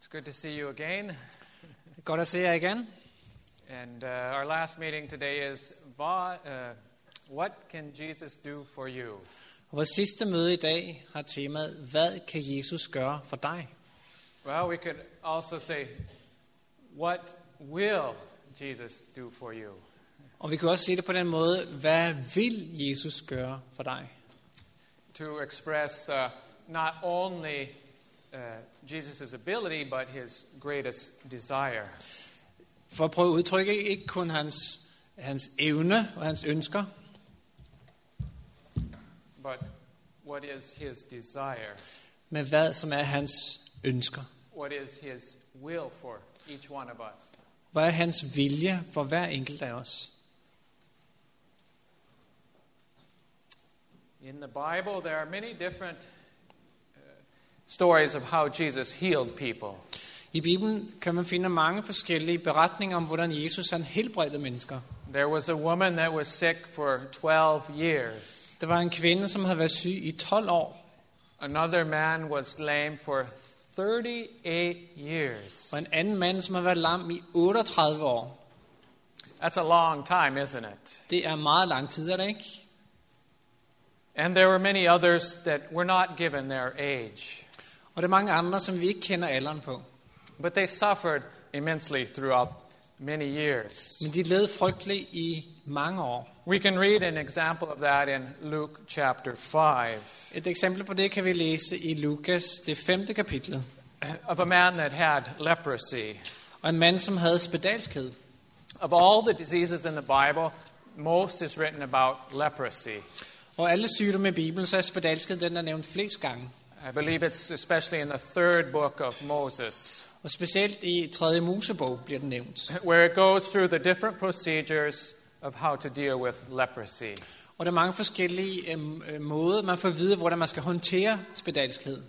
It's good to see you again. Godt at se jer igen. And our last meeting today is what can Jesus do for you? Vores sidste møde i dag har temaet, hvad kan Jesus gøre for dig? Well, we could also say, what will Jesus do for you? Og vi kan også sige det på den måde, hvad vil Jesus gøre for dig? To express not only Jesus' ability, but his greatest desire. For at prøve at udtrykke ikke kun hans evne og hans ønsker, But what is his desire? men hvad som er hans ønsker. What is his will for each one of us? Hvad er hans vilje for hver enkelt af os? In the Bible, there are many different stories of how Jesus healed people. I Bibelen kan man finde mange forskellige beretninger om, hvordan Jesus han helbredte mennesker. There was a woman that was sick for 12 years. Der var en kvinde, som havde været syg i 12 år. Another man was lame for 38 years. Og en anden mand, som har været lam i 38 år. That's a long time, isn't it? Det er meget lang tid, er det ikke? And there were many others that were not given their age. Og der er mange andre, som vi ikke kender alderen på. But they suffered immensely throughout many years. Men de led frygteligt i mange år. We can read an example of that in Luke chapter 5. Et eksempel på det kan vi læse i Lukas, det 5. kapitel. Of a man that had leprosy. Og en mand, som havde spedalskhed. Of all the diseases in the Bible, most is written about leprosy. Og alle sygdomme i Bibelen, så er spedalskhed den, der er nævnt flest gange. I believe it's especially in the third book of Moses, Og specielt i 3. Mosebog bliver den nævnt. where it goes through the different procedures of how to deal with leprosy. Og der er mange forskellige måder, man får at vide, hvordan man skal håndtere spedalskhed.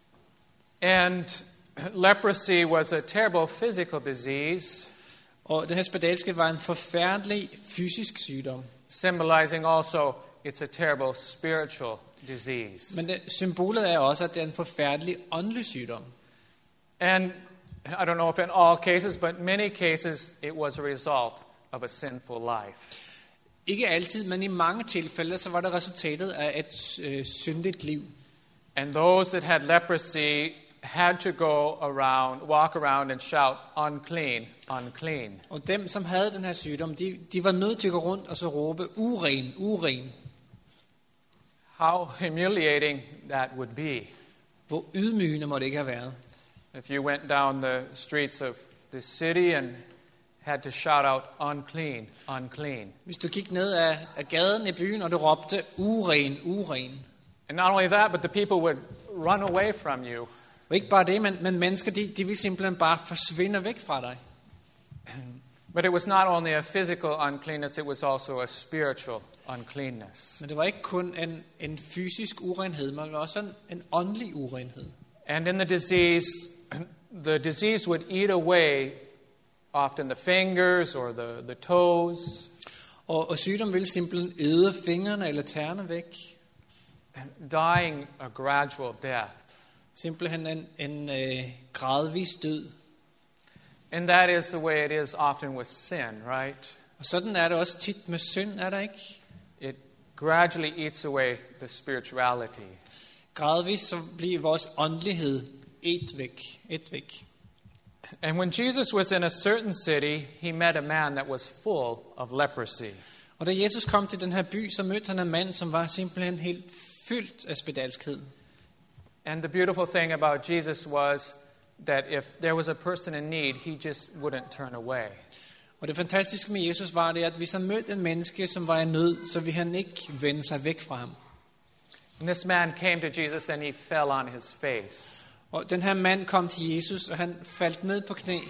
And leprosy was a terrible physical disease, Og det her spedalskhed var en forfærdelig fysisk sygdom. symbolizing also it's a terrible spiritual disease. Men symbolet er også, at det er en forfærdelig åndelig sygdom. And I don't know if in all cases, but many cases, it was a result of a sinful life. Ikke altid, men i mange tilfælde, så var det resultatet af et syndigt liv. And those that had leprosy had to walk around and shout, unclean, unclean. Og dem, som havde den her sygdom, de var nødt til at gå rundt og så råbe, uren, uren. How humiliating that would be. Hvor ydmygende må det ikke have været. If you went down the streets of the city and had to shout out, unclean, unclean. Hvis du gik ned af gaden i byen, og du råbte, uren, uren. And not only that, but the people would run away from you. Og ikke bare det, men mennesker, de vil simpelthen bare forsvinde væk fra dig. But it was not only a physical uncleanness, it was also a spiritual uncleanness. Men det var ikke kun en fysisk urenhed, men også en åndelig urenhed. And in the disease would eat away often the fingers or the toes. Og sygdom vil simpelthen æde fingrene eller tæerne væk. Dying a gradual death. Simpelthen en gradvis død. And that is the way it is often with sin, right? Og sådan er det også tit med synd, er der ikke? It gradually eats away the spirituality. Gradvis så bliver vores åndelighed et væk. And when Jesus was in a certain city, he met a man that was full of leprosy. Og da Jesus kom til den her by, så mødte han en mand, som var simpelthen helt fyldt af spedalskhed. And the beautiful thing about Jesus was that if there was a person in need, he just wouldn't turn away. Og det fantastiske med Jesus var det, at hvis han mødte en menneske, som var i nød, så ville han ikke vende sig væk fra ham. And this man came to Jesus and he fell on his face. Og den her mand kom til Jesus, og han faldt ned på knæ.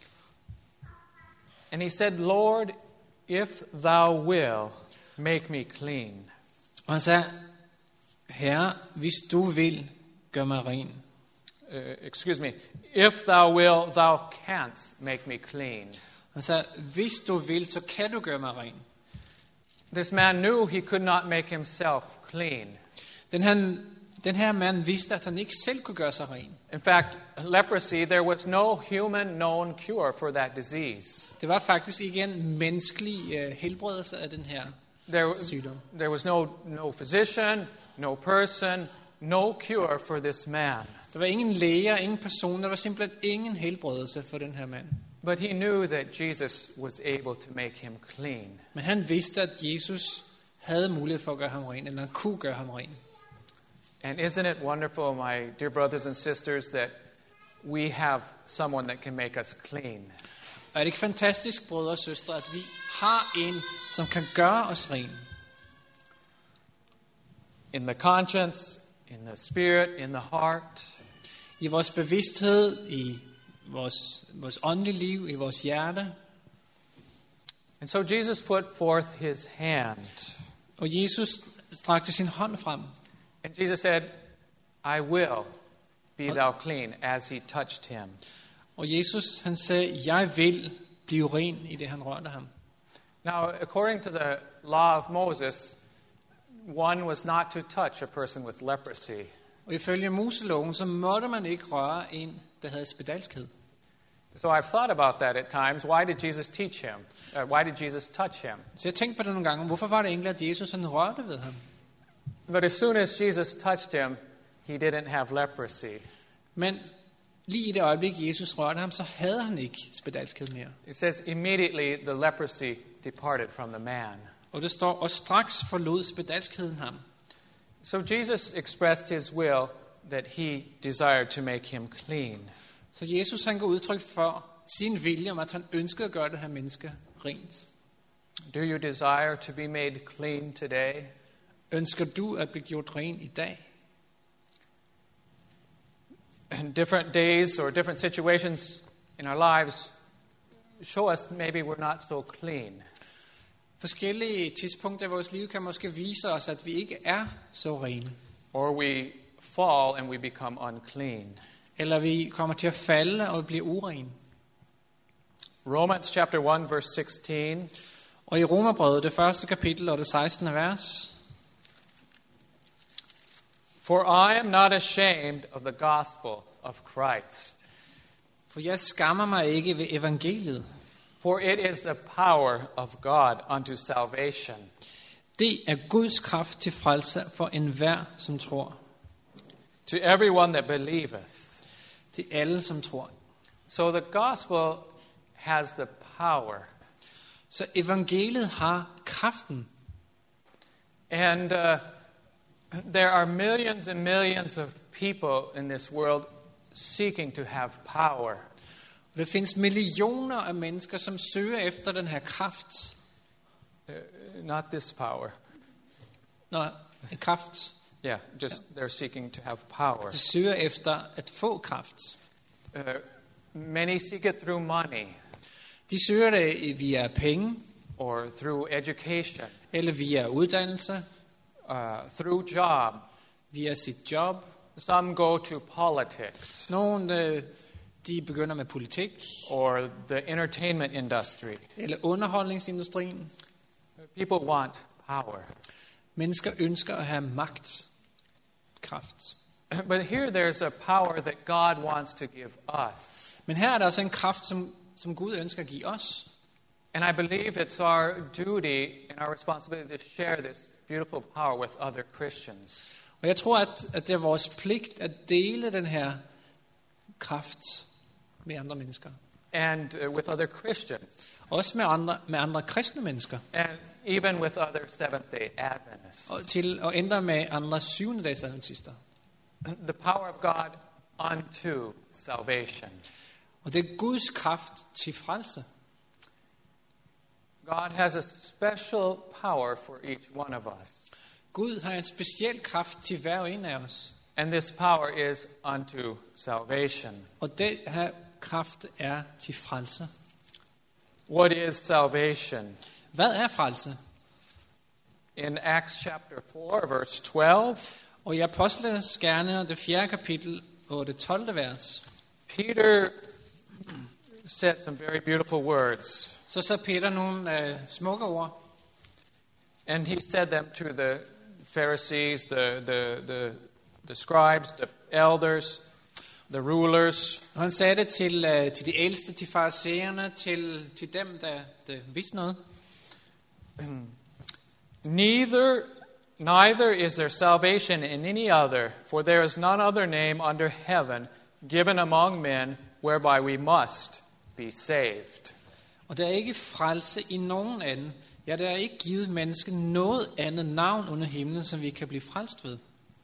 And he said, Lord, if thou will, make me clean. Og han sagde, Herre, hvis du vil, gør mig ren. Excuse me. If thou will, thou canst make me clean. Han sagde, hvis du vil, så kan du gøre mig ren. This man knew he could not make himself clean. Den her Den her mand vidste, at han ikke selv kunne gøre sig ren. In fact, leprosy, there was no human known cure for that disease. Det var faktisk ikke en menneskelig helbredelse af den her sygdom. There was no physician, no person, no cure for this man. Der var ingen læger, ingen person, der var simpelthen ingen helbredelse for den her mand. But he knew that Jesus was able to make him clean. Men han vidste, at Jesus havde mulighed for at gøre ham ren, eller han kunne gøre ham ren. And isn't it wonderful, my dear brothers and sisters, that we have someone that can make us clean? Og er det ikke fantastisk, brødre og søstre, at vi har en, som kan gøre os ren? In the conscience, in the spirit, in the heart. I vores bevidsthed, i vores åndelige liv, i vores hjerte. And so Jesus put forth his hand. Og Jesus strakte sin hånd frem. And Jesus said, I will be thou clean, as he touched him. Og Jesus, han sagde, jeg vil blive ren i det, han rørte ham. Now, according to the law of Moses, one was not to touch a person with leprosy. Og ifølge Moseloven, så måtte man ikke røre en, der havde spedalskhed. So I've thought about that at times. Why did Jesus teach him? Why did Jesus touch him? Så jeg tænkte på det nogle gange. Hvorfor var det egentlig, at Jesus han rørte ved ham? But as soon as Jesus touched him, he didn't have leprosy. Men lige i det øjeblik, Jesus rørte ham, så havde han ikke spedalskhed mere. It says, immediately the leprosy departed from the man. Og det står, og straks forlod spedalskheden ham. So Jesus expressed his will that he desired to make him clean. Så Jesus han går udtryk for sin vilje om, at han ønskede at gøre det her menneske rent. Do you desire to be made clean today? Ønsker du at blive gjort ren i dag? Different days or different situations in our lives show us maybe we're not so clean. Forskellige tidspunkter i vores liv kan måske vise os, at vi ikke er så rene. Or we fall and we become unclean. Eller vi kommer til at falde og blive urene. Romans chapter 1 verse 16. Og i Romerbrevet, det første kapitel og det 16. vers. For I am not ashamed of the gospel of Christ. For jeg skammer mig ikke ved evangeliet. For it is the power of God unto salvation. Det er Guds kraft til frelse for enhver, som tror. To everyone that believeth. Til alle, som tror. So the gospel has the power. Så evangeliet har kraften. And there are millions and millions of people in this world seeking to have power. Og der findes millioner af mennesker, som søger efter den her kraft. Not this power. Kraft. Yeah, just they're seeking to have power. De søger efter at få kraft. Many seek it through money. De søger det via penge. Or through education. Eller via uddannelse. Through job. Via sit job. Some go to politics. Nogle de begynder med politik. Or the entertainment industry. Eller underholdningsindustrien. People want power. Mennesker ønsker at have magt. Kraft. But here there's a power that God wants to give us. Men her er der også en kraft, som Gud ønsker at give os. And I believe it's our duty and our responsibility to share this beautiful power with other Christians. Og jeg tror, at det er vores pligt at dele den her kraft med andre mennesker. And with other Christians. Også med andre kristne mennesker. And even with other Seventh-day Adventists. Og til at ændre med andre syvende-dags adventister. The power of God unto salvation. Og det er Guds kraft til frelse. God has a special power for each one of us. Gud har en speciel kraft til hver en af os. And this power is unto salvation. Og den her kraft er til frelse. What is salvation? Hvad er frelse? In Acts chapter 4 verse 12. Og i Apostlenes Gerninger, det 4. kapitel og det 12. vers. Peter said some very beautiful words. Så sagde Peter nogle smukke ord. And he said them to the Pharisees, the the scribes, the elders, the rulers. Og han sagde det til de ældste, til farisæerne, til dem, der vidste noget. Neither is there salvation in any other, for there is none other name under heaven given among men whereby we must be saved. Og der er ikke frelse i nogen anden. Ja, der er ikke givet menneske noget andet navn under himlen, som vi kan blive frelst ved.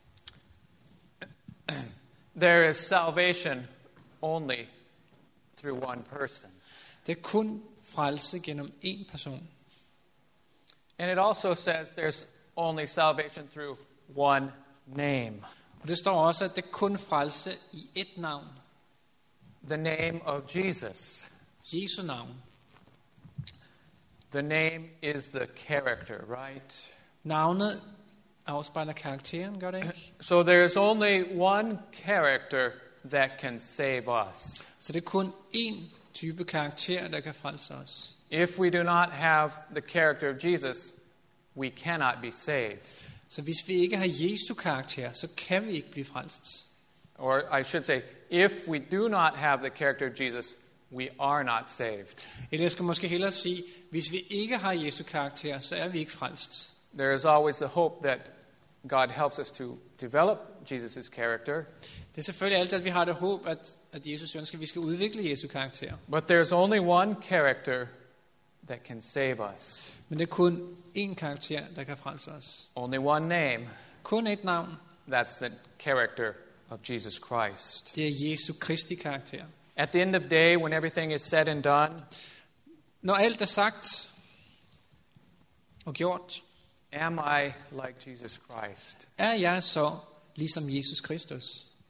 There is salvation only through one person. Det er kun frelse gennem én person. And it also says there's only salvation through one name. Og det står også, at det er kun frelse i ét navn. The name of Jesus. Jesu navn. The name is the character, right? Navnet afspejler karakteren, gør det ikke? So there is only one character that can save us. Så det er kun én type karakter, der kan frelse os. If we do not have the character of Jesus, we cannot be saved. Så hvis vi ikke har Jesu karakter, så kan vi ikke blive frelst. Or I should say, if we do not have the character of Jesus, we are not saved. Eller jeg skal måske hellere sige, hvis vi ikke har Jesu karakter, så er vi ikke frelst. There is always the hope that God helps us to develop Jesus' character. Det er selvfølgelig altid, at vi har det håb, at Jesus ønsker, at vi skal udvikle Jesu karakter. But there's only one character that can save us. Men det er kun én karakter, der kan frelse os. Only one name. Kun et navn. That's the character of Jesus Christ. Det er Jesu Kristi karakter. At the end of the day, when everything is said and done, når alt er sagt og gjort, am I like Jesus Christ? er jeg så ligesom Jesus Kristus?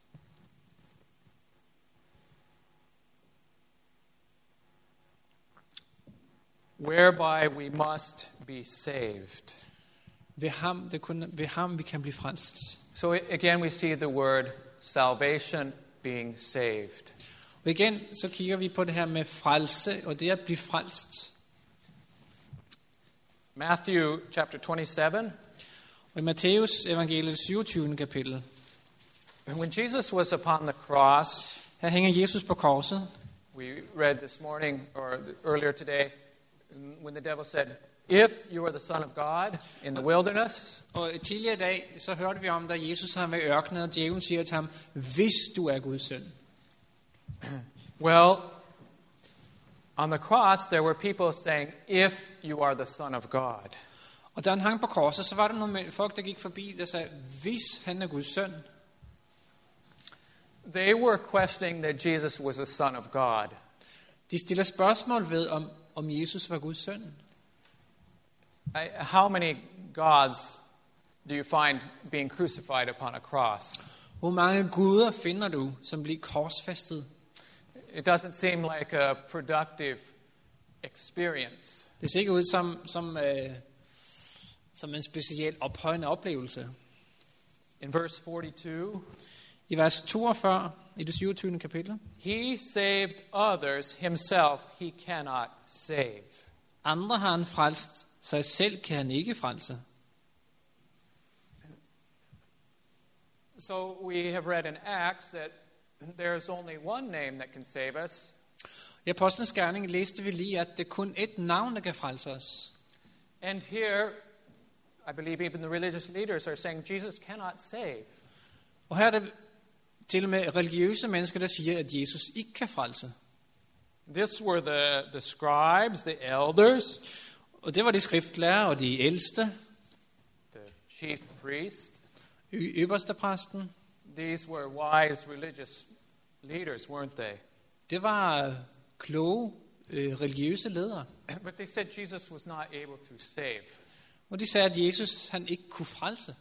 Whereby we must be saved. Ved ham vi kan blive frelst. So again we see the word salvation, being saved. Og igen så kigger vi på det her med frelse, og det at blive frelst. Matthew chapter 27. Og i Matthæus evangeliet 27. kapitel. When Jesus was upon the cross, her hænger Jesus på korset. We read this morning or earlier today when the devil said, "If you are the son of God in the wilderness." Og tidligere i dag så hørte vi om, da Jesus har med ørkenen, og djævlen siger til ham, hvis du er Guds søn. Well, on the cross there were people saying, "If you are the son of God." Og da han hang på korset, så var der nogle folk, der gik forbi, der sagde, hvis han er Guds søn. They were questioning that Jesus was a son of God. De stiller spørgsmål ved, om Jesus var Guds søn. How many gods do you find being crucified upon a cross? Hvor mange guder finder du, som bliver korsfæstet? It doesn't seem like a productive experience. Det ser ikke ud som en speciel ophøjende oplevelse. In verse 42, i vers 42 i det 27. kapitel. He saved others, himself he cannot save. Andre har han frelst, sig selv kan han ikke frelse. So we have read in Acts that there is only one name that can save us. I Apostlenes Gerning læste vi lige, at det kun et navn, der kan frelse os. And here, I believe even the religious leaders are saying Jesus cannot save. Og her er det til og med religiøse mennesker, der siger, at Jesus ikke kan frelse. This were the scribes, the elders, og det var de skriftlærere og de ældste, the chief priest, øverstepræsten. These were wise religious leaders, weren't they? Det var kloge religiøse ledere. But they said Jesus was not able to save. Og de sagde, at Jesus han ikke kunne frelse.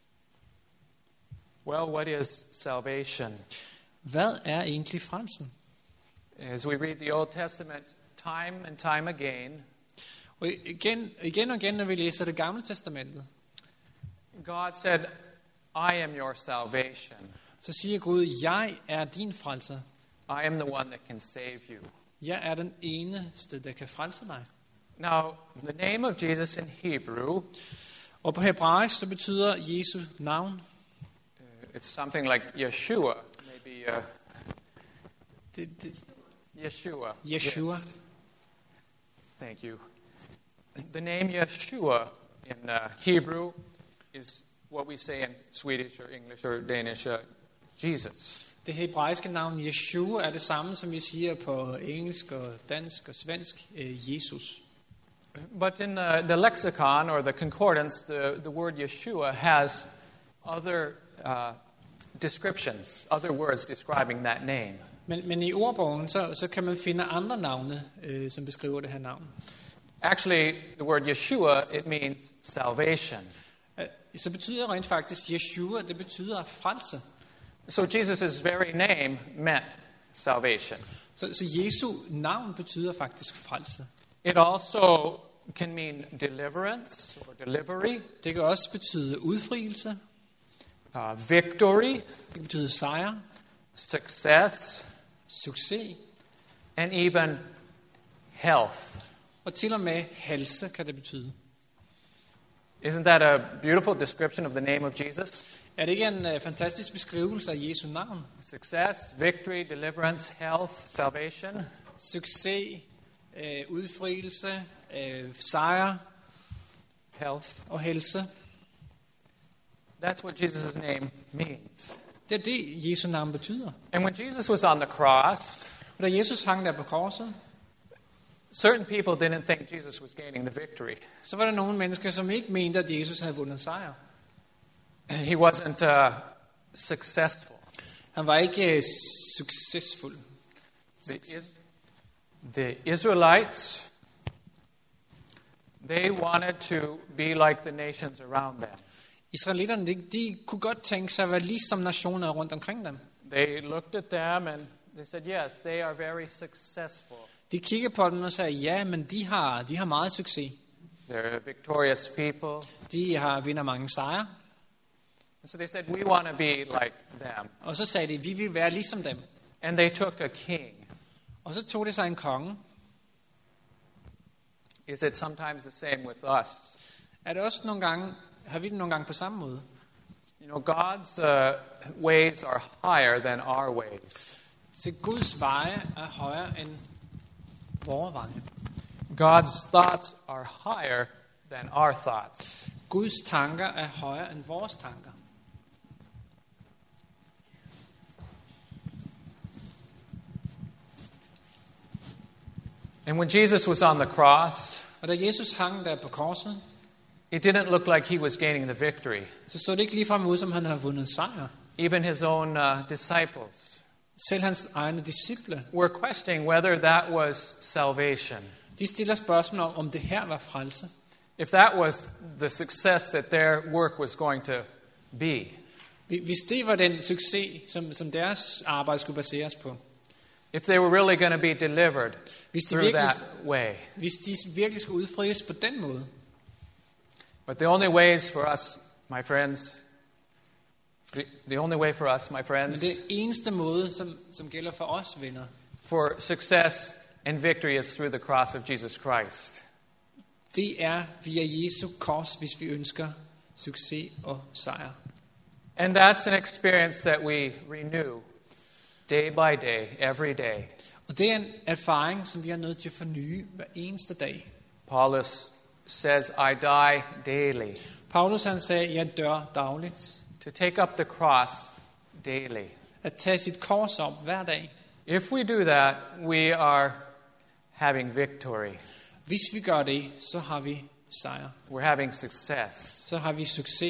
Well, what is salvation? Hvad er egentlig frelsen? As we read the Old Testament time and time again, og igen, når vi læser det gamle testamentet, God said, I am your salvation. Så siger Gud, jeg er din frelser. I am the one that can save you. Jeg er den eneste, der kan frelse dig. Now, the name of Jesus in Hebrew, og på hebraisk så betyder Jesu navn, It's something like Yeshua, maybe. Yeshua. Yeshua. Yes. Thank you. The name Yeshua in Hebrew is what we say in Swedish or English or Danish, Jesus. Det hebraiske navn Yeshua er det samme, som vi siger på engelsk og dansk og svensk, Jesus. But in the lexicon or the concordance, the word Yeshua has other descriptions, other words describing that name. Men i ordbogen, så kan man finde andre navne, som beskriver det her navn. Actually, the word Yeshua, it means salvation. Så betyder rent faktisk Yeshua, det betyder frelse. So Jesus' very name meant salvation. Så Jesu navn betyder faktisk frelse. It also can mean deliverance or delivery, Det kan også betyde udfrielse. Victory, Det betyder sejr, success, succes and even health. og til og med helse kan det betyde. Isn't that a beautiful description of the name of Jesus? Er det ikke en fantastisk beskrivelse af Jesu navn? Success, victory, deliverance, health, salvation. Succes, udfrielse, sejr Health. og helse. That's what Jesus' name means. Det er det, Jesu navn betyder. And when Jesus was on the cross, Og da Jesus hang der på korset, certain people didn't think Jesus was gaining the victory. så var der nogle mennesker, som ikke mente, at Jesus havde vundet sejr. He wasn't successful. Han var ikke succesfuld. The Israelites, they wanted to be like the nations around them. Israelitterne, de kunne godt tænke sig at være ligesom nationer rundt omkring dem. They looked at them and they said, yes, they are very successful. De kiggede på dem og sagde, ja, men de har meget succes. They're victorious people. De vinder mange sejre. And so they said, we want to be like them. Og så sagde de, vi vil være ligesom dem. And they took a king. Og så tog de sig en konge. Is it sometimes the same with us? Er det også nogle gange, har vi det nogle gange på samme måde? You know, God's ways are higher than our ways. Så Guds veje er højere end vores veje. God's thoughts are higher than our thoughts. Guds tanker er højere end vores tanker. And when Jesus was on the cross, Og da Jesus hang der på korset, it didn't look like he was gaining the victory. så det ikke ligefrem ud, som han havde vundet sejr. Even his own disciples Selv hans egne disciple, were questioning whether that was salvation. de stiller spørgsmål om det her var frelse. If that was the success that their work was going to be. Hvis det var den succes, som deres arbejde skulle baseres på. If they were really going to be delivered through that way. Hvis de virkelig skulle udfries på den måde. But the only ways for us, my friends, the only way for us, my friends, Men det eneste måde, som gælder for os, venner, for success and victory is through the cross of Jesus Christ. det er via Jesu kors, hvis vi ønsker succes og sejr. And that's an experience that we renew day by day, every day. Og det er en erfaring, som vi er nødt til at forny hver eneste dag. Paulus says, I die daily. Paulus han sagde, jeg dør dagligt. To take up the cross daily. At tage sit kors op hver dag. If we do that, we are having victory. Hvis vi gør det, så har vi sejr. We're having success. Så har vi succes.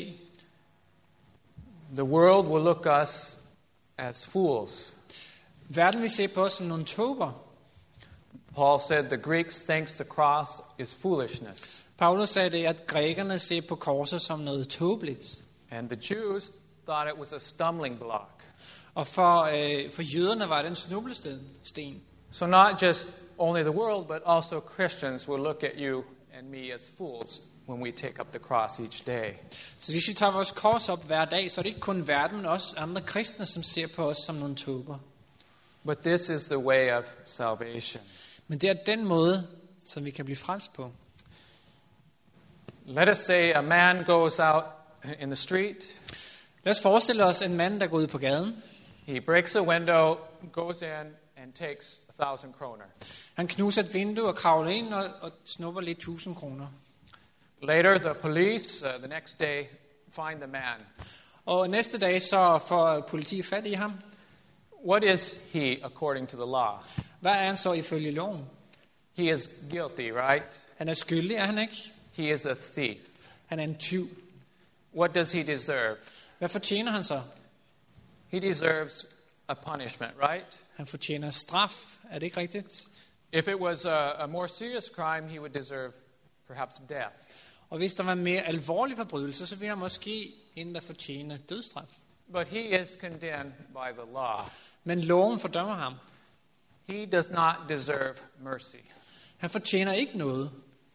The world will look us as fools. Verden vil se på os som nogle tåber. Paul said the Greeks thinks the cross is foolishness. Paulus sagde det, at grækerne ser på korset som noget tåbeligt. And the Jews thought it was a stumbling block. Og for jøderne var det en snublesten. So not just only the world, but also Christians will look at you and me as fools when we take up the cross each day. Så hvis vi tager vores kors op hver dag, så er det ikke kun verden, men også andre kristne, som ser på os som nogle tåber. But this is the way of salvation. Men det er den måde, som vi kan blive frelst på. Let us say a man goes out in the street. Lad os forestille os en mand, der går ud på gaden. He breaks a window, goes in, and takes 1,000 kroner. Han knuser et vindue og kravler ind og snupper lidt 1000 kroner. Later, the police, the next day, find the man. Og næste dag så får politiet fat i ham. What is he according to the law? Hvad er han så ifølge loven? He is guilty, right? Han er skyldig, er han ikke? He is a thief. Han er en tyv. What does he deserve? Hvad fortjener han så? He deserves a punishment, right? Han fortjener straf. Er det ikke rigtigt? If it was a more serious crime, he would deserve perhaps death. Og hvis der var en mere alvorlig forbrydelse, så ville han måske endda fortjene dødsstraf. But he is condemned by the law. Men loven fordømmer ham. He does not deserve mercy. Han fortjener ikke noget.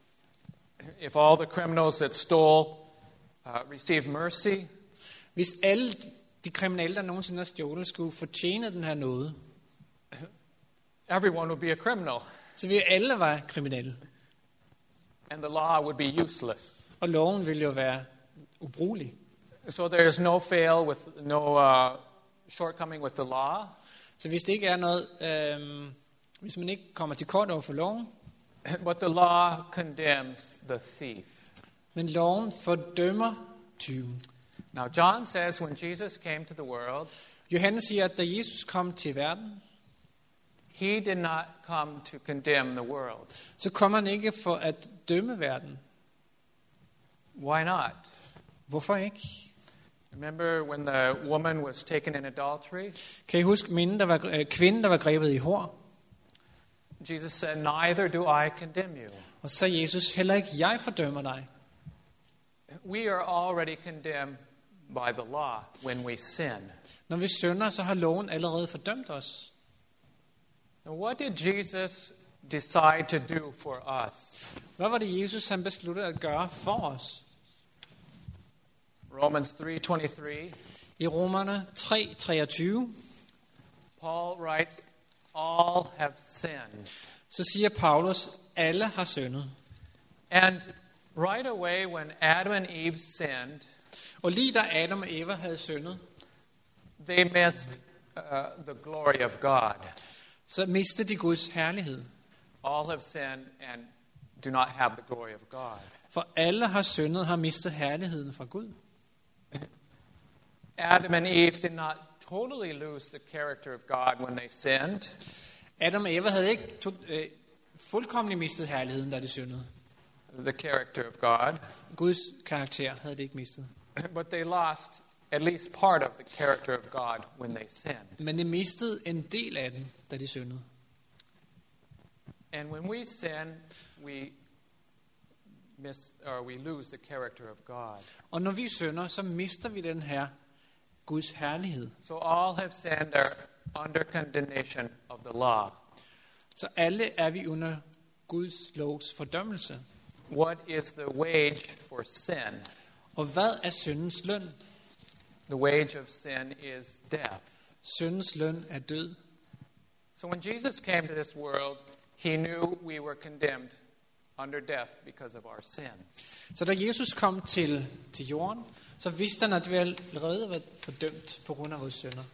If all the criminals that stole received mercy, Hvis alle de kriminelle, der nogensinde har stjålet, skulle fortjene den her nåde, everyone would be a criminal, så ville alle være kriminelle. and the law would be useless. Og loven ville jo være ubrugelig. So there is no fail with no shortcoming with the law. Så hvis det ikke er noget, hvis man ikke kommer til kort over for loven, But the law condemns the thief. men loven fordømmer tyven. Now, John says when Jesus came to the world, Johannes siger, at da Jesus kom til verden, he did not come to condemn the world. så kom han ikke for at dømme verden. Why not? Hvorfor ikke? Remember when the woman was taken in adultery? Kan I huske kvinden, der var grebet i hår? Jesus said, neither do I condemn you. Og så sagde Jesus, heller ikke jeg fordømmer dig. We are already condemned by the law when we sin. Når vi synder, så har loven allerede fordømt os. Now, what did Jesus decide to do for us? Hvad var det, Jesus han besluttede at gøre for os? Romans 3:23. I Romerne 3:23, Paul writes, all have sinned. så siger Paulus, alle har syndet. And right away when Adam and Eve sinned, Og lige da Adam og Eva havde syndet, they missed the glory of God. så mistede de Guds herlighed. All have sinned and do not have the glory of God. For alle har syndet, har mistet herligheden fra Gud. Adam and Eve did not totally lose the character of God when they sinned. Adam og Eva havde ikke fuldkommen mistet herligheden, da de syndede. The character of God. Guds karakter havde de ikke mistet. But they lost at least part of the character of God when they sinned. Men de mistede en del af den, da de syndede. And when we sin, we lose the character of God. Og når vi synder, så mister vi den her Guds herlighed. So all have sinned are under condemnation of the law. Så alle er vi under Guds lovs fordømmelse. What is the wage for sin? Og hvad er syndens løn? The wage of sin is death. Syndens løn er død. So when Jesus came to this world, he knew we were condemned under death because of our sins. Så da Jesus kom til jorden, så vidste han, at vi allerede var fordømt på grund af vores synder.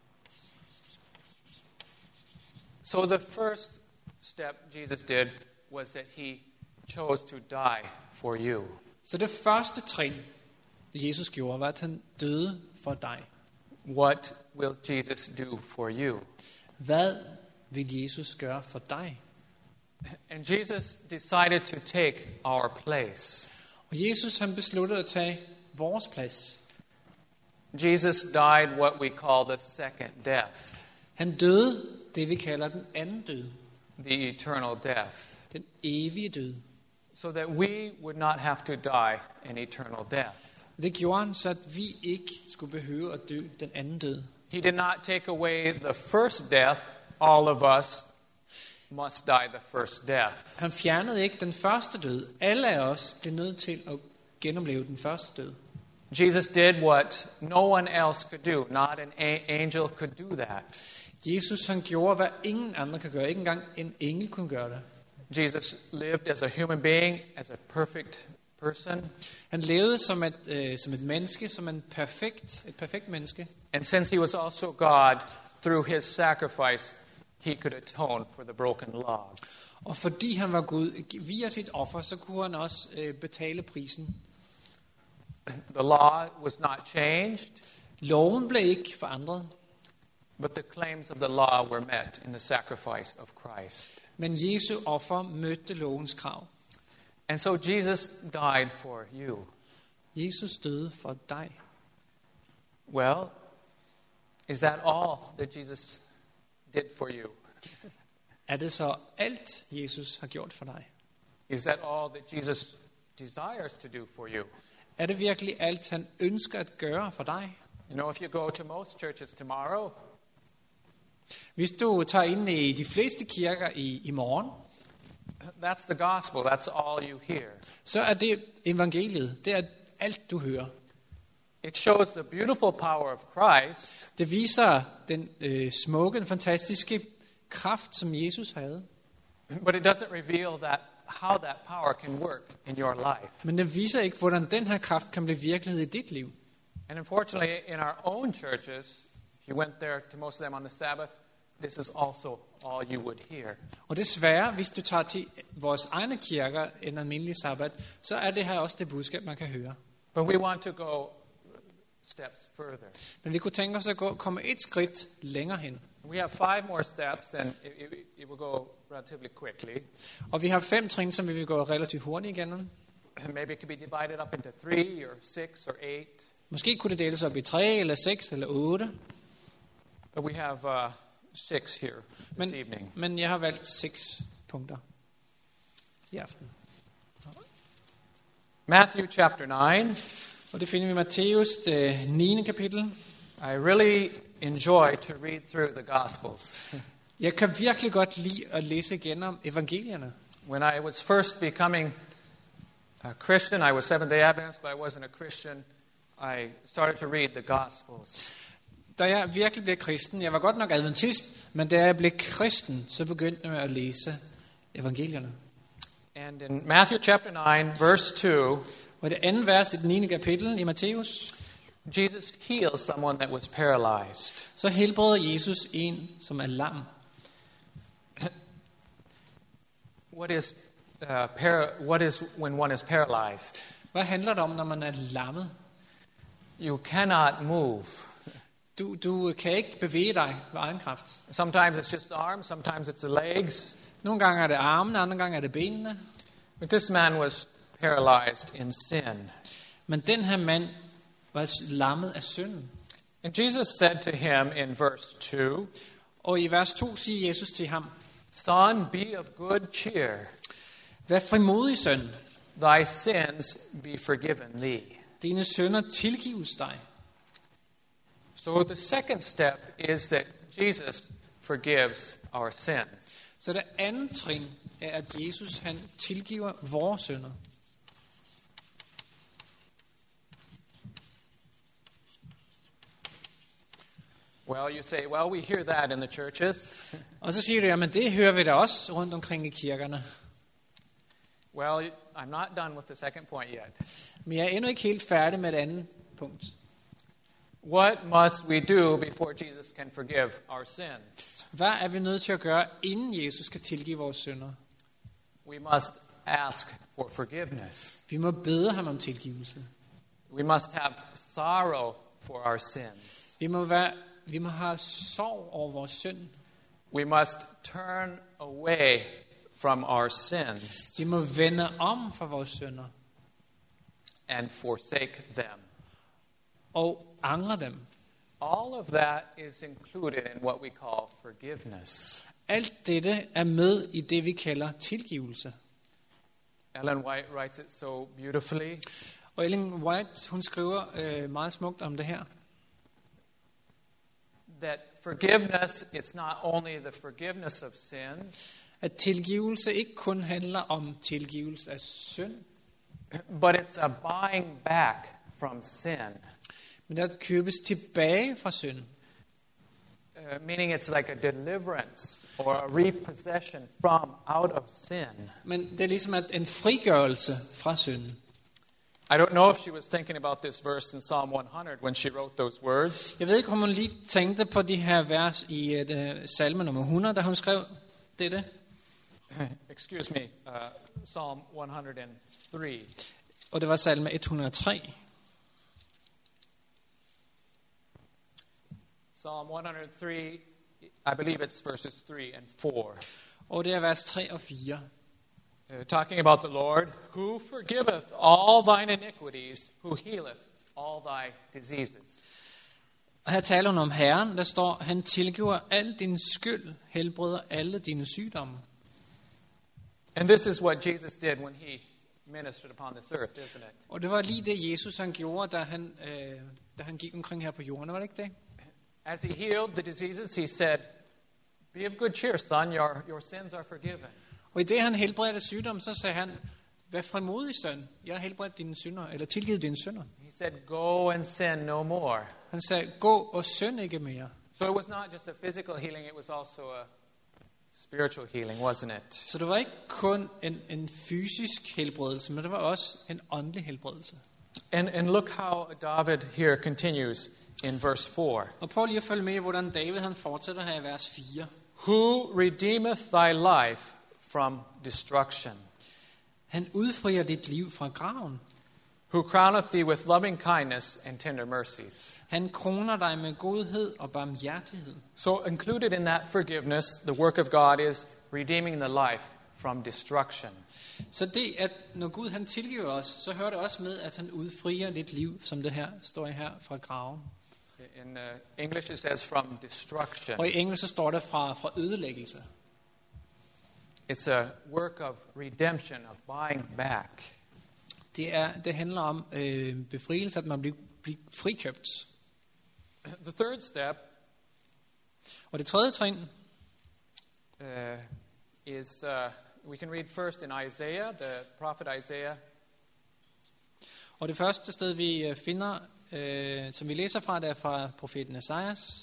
So the first step Jesus did was that he chose to die for you. Så det første trin, Jesus gjorde, var, at han døde for dig. What will Jesus do for you? Hvad vil Jesus gøre for dig? And Jesus decided to take our place. Og Jesus han besluttede at tage vores plads. Jesus died what we call the second death, Han døde det vi kalder den anden død. the eternal death, Den evige død. so that we would not have to die an eternal death. Det gjorde han, så at vi ikke skulle behøve at dø den anden død. He did not take away the first death. All of us must die the first death. Han fjernede ikke den første død. Alle af os blev nødt til at genopleve den første død. Jesus did what no one else could do. Not an angel could do that. Jesus han gjorde, hvad ingen andre kan gøre. Ikke engang en engel kunne gøre det. Jesus lived as a human being, as a perfect person. Han levede som et menneske, som et perfekt menneske. And since he was also God, through his sacrifice, he could atone for the broken law. Og fordi han var Gud, via sit offer, så kunne han også betale prisen. The law was not changed, Loven blev ikke forandret, but the claims of the law were met in the sacrifice of Christ. men Jesu offer mødte lovens krav. And so Jesus died for you. Jesus døde for dig. Well, is that all that Jesus did for you? Er det så alt, Jesus har gjort for dig? Is that all that Jesus desires to do for you? Er det virkelig alt, han ønsker at gøre for dig? You know, if you go to most churches tomorrow, Hvis du tager ind i de fleste kirker i morgen, that's the gospel. That's all you hear. så er det evangeliet. Det er alt, du hører. It shows the beautiful power of Christ, Det viser den smukke, fantastiske kraft, som Jesus havde. but it doesn't reveal how that power can work in your life. Men det viser ikke, hvordan den her kraft kan blive virkelighed i dit liv. And unfortunately, in our own churches, if you went there to most of them on the Sabbath, this is also all you would hear. Og desværre, hvis du tager til vores egne kirker en almindelig sabbat, så er det her også det budskab, man kan høre. But we want to go steps further. Men vi kunne tænke os at komme et skridt længere hen. We have 5 more steps, and it will go relatively quickly. Og vi har 5 trin, som vi vil gå relativt hurtigt igennem. Maybe it could be divided up into 3 or 6 or 8. Måske kunne det deles op i 3 eller 6 eller 8. But we have 6 here this evening. Men jeg har valgt 6 punkter i aften. Matthew chapter 9. Og det finder vi i Matthæus, det 9. kapitel. I really enjoy to read through the Gospels. Jeg kan virkelig godt lide at læse igennem evangelierne. When I was first becoming a Christian, I was Seventh-day Adventist, but I wasn't a Christian. I started to read the Gospels. Da jeg virkelig blev kristen, jeg var godt nok adventist, men da jeg blev kristen, så begyndte jeg at læse evangelierne. And in Matthew chapter 9, verse 2, Og det andet vers i det 9. kapitel i Matthæus, Jesus heals someone that was paralyzed. så helbreder Jesus en, som er lam. What is when one is paralyzed? Hvad handler det om, når man er lammet? You cannot move. Du kan ikke bevæge dig ved egen kraft. Sometimes it's just the arms, sometimes it's the legs. Nogle gange er det armene, andre gange er det benene. But this man was paralyzed in sin. Men den her mand var lammet af synden. And Jesus said to him in verse 2, Og i vers 2 siger Jesus til ham, Son, be of good cheer. vær frimodig, søn. Thy sins be forgiven thee. Dine synder tilgives dig. So the second step is that Jesus forgives our sins. Så det andet trin er, at Jesus han tilgiver vores synder. Well, you say, well, we hear that in the churches. Og så siger du, jamen det hører vi da også rundt omkring i kirkerne. Well, I'm not done with the second point yet. Men jeg er endnu ikke helt færdig med det andet punkt. What must we do before Jesus can forgive our sins? Hvad er vi nødt til at gøre, inden Jesus kan tilgive vores synder? We must ask for forgiveness. Vi må bede ham om tilgivelse. We must have sorrow for our sins. Vi må have sorg over vores synd. We must turn away from our sins Vi må vende om fra vores synder and forsake them. og angre dem. All of that is included in what we call forgiveness. Alt dette er med i det, vi kalder tilgivelse. Ellen White writes it so beautifully. Og Ellen White, hun skriver meget smukt om det her. That forgiveness, it's not only the forgiveness of sins, At tilgivelse ikke kun handler om tilgivelse af synd, but it's a buying back from sin. men at købes tilbage fra synd. Meaning it's like a deliverance or a repossession from out of sin. Men det er ligesom en frigørelse fra synden. I don't know if she was thinking about this verse in Psalm 100 when she wrote those words. Jeg ved ikke, om hun lige tænkte på de her vers i salme nummer 100, da hun skrev dette. Excuse me, Psalm 103. Og det var salme 103. Psalm 103, I believe it's verses 3 and 4. Og det er vers 3 og 4. Talking about the Lord, who forgiveth all thine iniquities, who healeth all thy diseases. Og her taler hun om Herren, der står, han tilgiver al din skyld, helbreder alle dine sygdomme. And this is what Jesus did when he ministered upon this earth, isn't it? Og det var lige det, Jesus han gjorde, da han gik omkring her på jorden, var det ikke det? As he healed the diseases, he said, be of good cheer, son, your sins are forgiven. Og i det, han helbredte sygdom, så sagde han, vær frimodig, søn, jeg har helbredt dine synder, eller tilgivet dine synder. He said, go and sin no more. Han sagde, gå og synd ikke mere. So it was not just a physical healing, it was also a spiritual healing, wasn't it? Så det var ikke kun en fysisk helbredelse, men det var også en åndelig helbredelse. And look how David here continues in verse 4. Og prøv lige at følge med, hvordan David han fortsætter her i vers 4. Who redeemeth thy life from destruction? Han udfrier dit liv fra graven. Who crowneth thee with loving kindness and tender mercies? Han kroner dig med godhed og barmhjertighed. So included in that forgiveness, the work of God is redeeming the life from destruction. Så det, at når Gud han tilgiver os, så hører det også med, at han udfrier dit liv, som det her står her fra graven. In English it says from destruction. Og i engelsk så står det fra ødelæggelse. It's a work of redemption, of buying back. Det handler om befrielse, at man bliver frikøbt. The third step Og det tredje trin is, we can read first in Isaiah, the prophet Isaiah. Og det første sted, vi finder, som vi læser fra, det er fra profeten Esajas.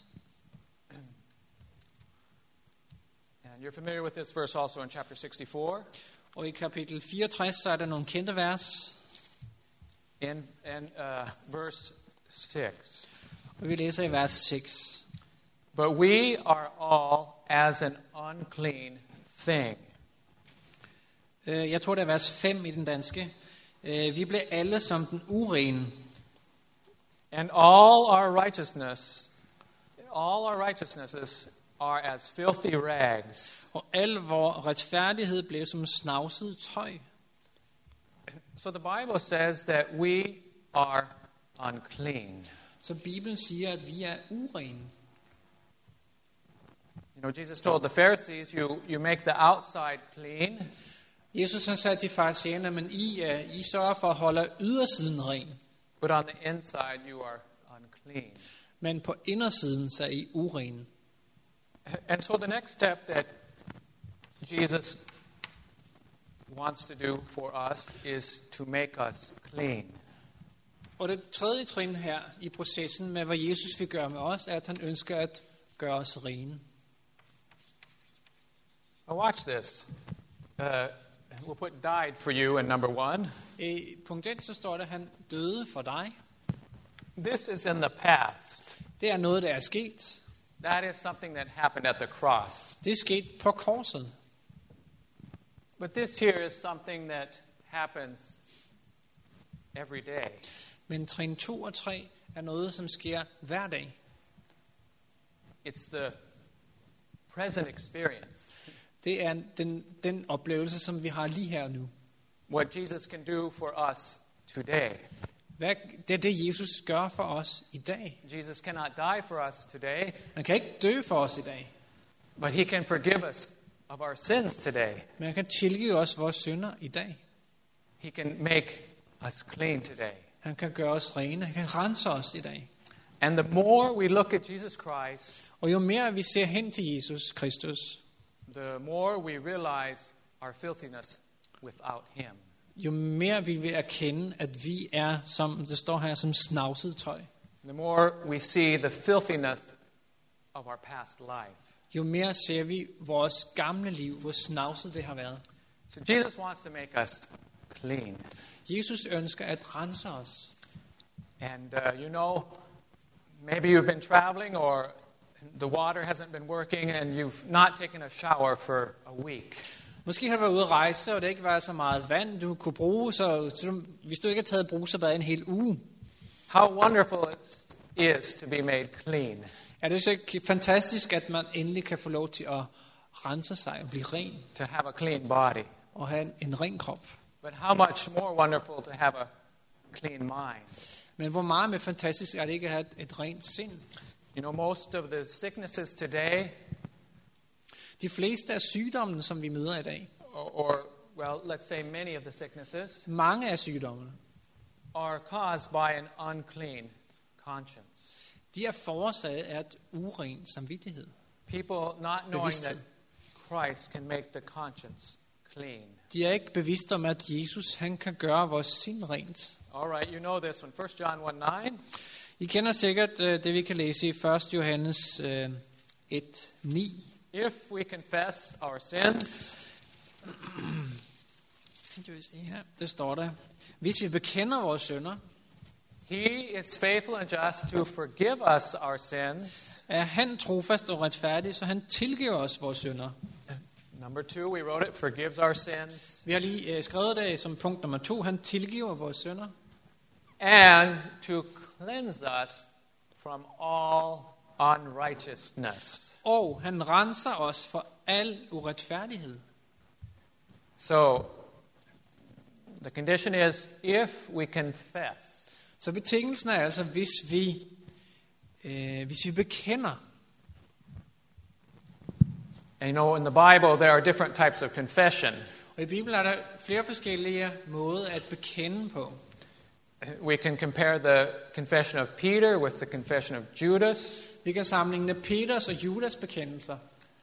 And you're familiar with this verse also in chapter 64. Og i kapitel 64, så er der nogle kendte vers. In verse 6. Og vi læser i vers 6. But we are all as an unclean thing. Jeg tror, det er vers 5 i den danske. Vi blev alle som den urene. And all our righteousnesses are as filthy rags. Og al vor retfærdighed blev som snavset tøj. So the Bible says that we are unclean. Så Bibelen siger, at vi er urene. You know, Jesus told the Pharisees, you make the outside clean, Jesus han sagde til farisæerne, men I sørger for at holde ydersiden ren. but on the inside you are unclean. Men på indersiden så er I urene. And so the next step that Jesus wants to do for us is to make us clean. Og det tredje trin her i processen med, hvad Jesus vil gøre med os, er, at han ønsker at gøre os rene. Now watch this. We'll put died for you in number 1. I punkt 1 så står der, at han døde for dig. This is in the past. Det er noget, der er sket. That is something that happened at the cross. Det er sket på korset. But this here is something that happens every day. Men trin 2 og 3 er noget, som sker hver dag. It's the present experience. Det er den oplevelse, som vi har lige her og nu. What Jesus can do for us today. Det er det, Jesus gør for os i dag. Jesus cannot die for us today, Han kan ikke dø for os i dag. but he can forgive us of our sins today. Men han kan tilgive os vores synder i dag. He can make us clean today. Han kan gøre os rene. Han kan rense os i dag. And the more we look at Jesus Christ, Og jo mere vi ser hen til Jesus Kristus, the more we realize our filthiness without him. jo mere vi vil erkende, at vi er, som det står her, som snavset tøj. The more we see the filthiness of our past life. Jo mere ser vi vores gamle liv, hvor snavset det har været. So Jesus wants to make us clean. Jesus ønsker at rense os. And maybe you've been traveling or the water hasn't been working and you've not taken a shower for a week. Måske har du været ude at rejse, og det ikke var så meget vand, du kunne bruge, så hvis du ikke har taget brusebad en hel uge. How wonderful it is to be made clean. Er det så fantastisk, at man endelig kan få lov til at rense sig og blive ren? To have a clean body. Og have en ren krop. But how much more wonderful to have a clean mind. Men hvor meget mere fantastisk er det ikke at have et rent sind? Most of the sicknesses today, de fleste af sygdommene, som vi møder i dag, let's say many of the sicknesses, mange af sygdommene, are caused by an unclean conscience. De er forårsaget af et uren samvittighed. People not knowing that Christ can make the conscience clean. De er ikke bevidste om, at Jesus han kan gøre vores sind rent. All right, you know this one. 1 John 1:9. I kender sikkert det, vi kan læse i 1. Johannes 1:9. If we confess our sins, det står der. Hvis vi bekender vores synder, He is faithful and just to forgive us our sins. Er han trofast og retfærdig, så han tilgiver os vores synder. Number 2, we wrote it, forgives our sins. Vi har lige skrevet det som punkt nummer 2. Han tilgiver vores synder. And to cleanse us from all unrighteousness. Og han renser os for al uretfærdighed. So, the condition is, if we confess. Så betingelsen er altså, hvis vi bekender. And in the Bible, there are different types of confession. Og i Bibelen er der flere forskellige måder at bekende på. We can compare the confession of Peter with the confession of Judas. Vi kan sammenligne Peters og Judas bekendelser.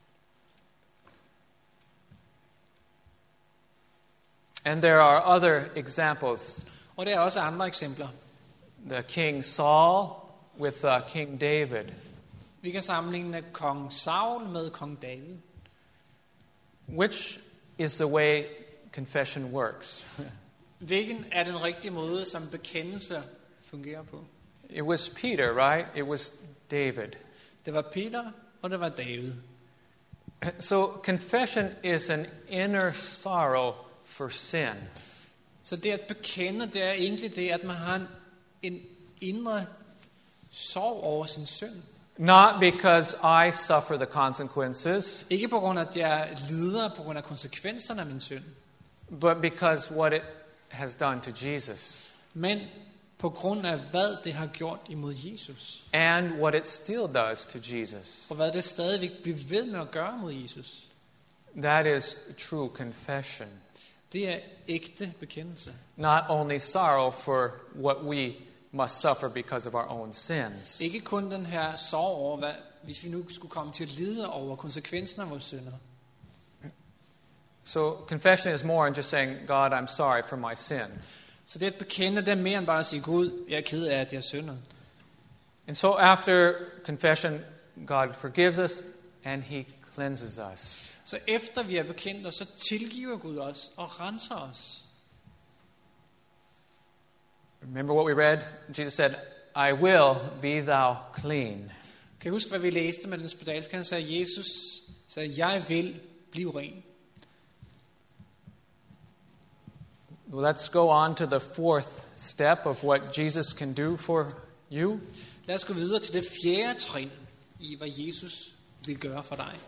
And there are other examples. Og der er også andre eksempler. The King Saul with King David. Vi kan sammenligne kong Saul med kong David. Which is the way confession works? Hvilken er den rigtige måde, som bekendelse fungerer på? It was Peter, right? It was David. Det var Peter, og det var David. So confession is an inner sorrow for sin. Så det at bekende, det er egentlig det, at man har en indre sorg over sin synd. Not because I suffer the consequences. Ikke på grund af, at jeg lider på grund af konsekvenserne af min synd. But because what it has done to Jesus. Men på grund af, hvad det har gjort imod Jesus. And what it still does to Jesus. Og hvad det stadigvæk bliver ved med at gøre mod Jesus. That is true confession. Det er ægte bekendelse. Not only sorrow for what we must suffer because of our own sins. Ikke kun den her sorg over, hvis vi nu skulle komme til at lide over konsekvensen af vores synder. So confession is more than just saying, God, I'm sorry for my sin. Så det at bekende, det er mere end bare at sige, Gud, jeg er ked af, at jeg synder. And so after confession, God forgives us and He cleanses us. Så efter vi er bekendt, så tilgiver Gud os og renser os. Remember what we read? Jesus said, I will be thou clean. Kan I huske, hvad vi læste med den spedalske? Han sagde, Jesus sagde, jeg vil blive ren. Well, let's go on to the fourth step of what Jesus can do for you. Lad os gå videre til det fjerde trin i, hvad Jesus vil gøre for dig.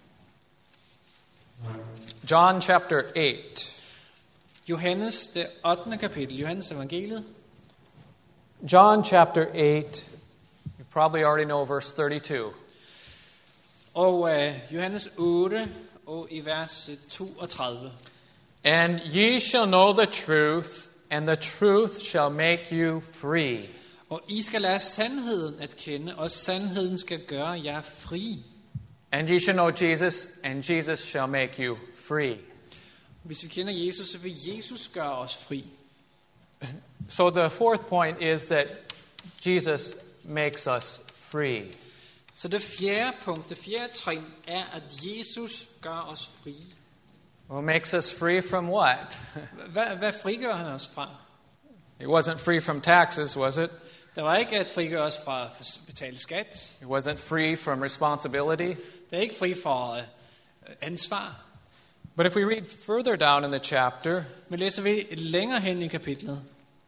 John chapter 8. Johannes, det 8. kapitel, Johannes evangeliet. John chapter 8, you probably already know verse 32. Og Johannes 8, og i vers 32. And ye shall know the truth, and the truth shall make you free. Og I skal lære sandheden at kende, og sandheden skal gøre jer fri. And ye shall know Jesus, and Jesus shall make you free. Hvis vi kender Jesus, så vil Jesus gøre os fri. So the fourth point is that Jesus makes us free. Så det fjerde punkt, det fjerde trin, er, at Jesus gør os fri. Well, makes us free from what? Hvad frigør han os fra? It wasn't free from taxes, was it? Det var ikke at frigøre os fra at betale skat. It wasn't free from responsibility. Det er ikke fri for ansvar. But if we read further down in the chapter, Men læser vi længere hen i kapitlet,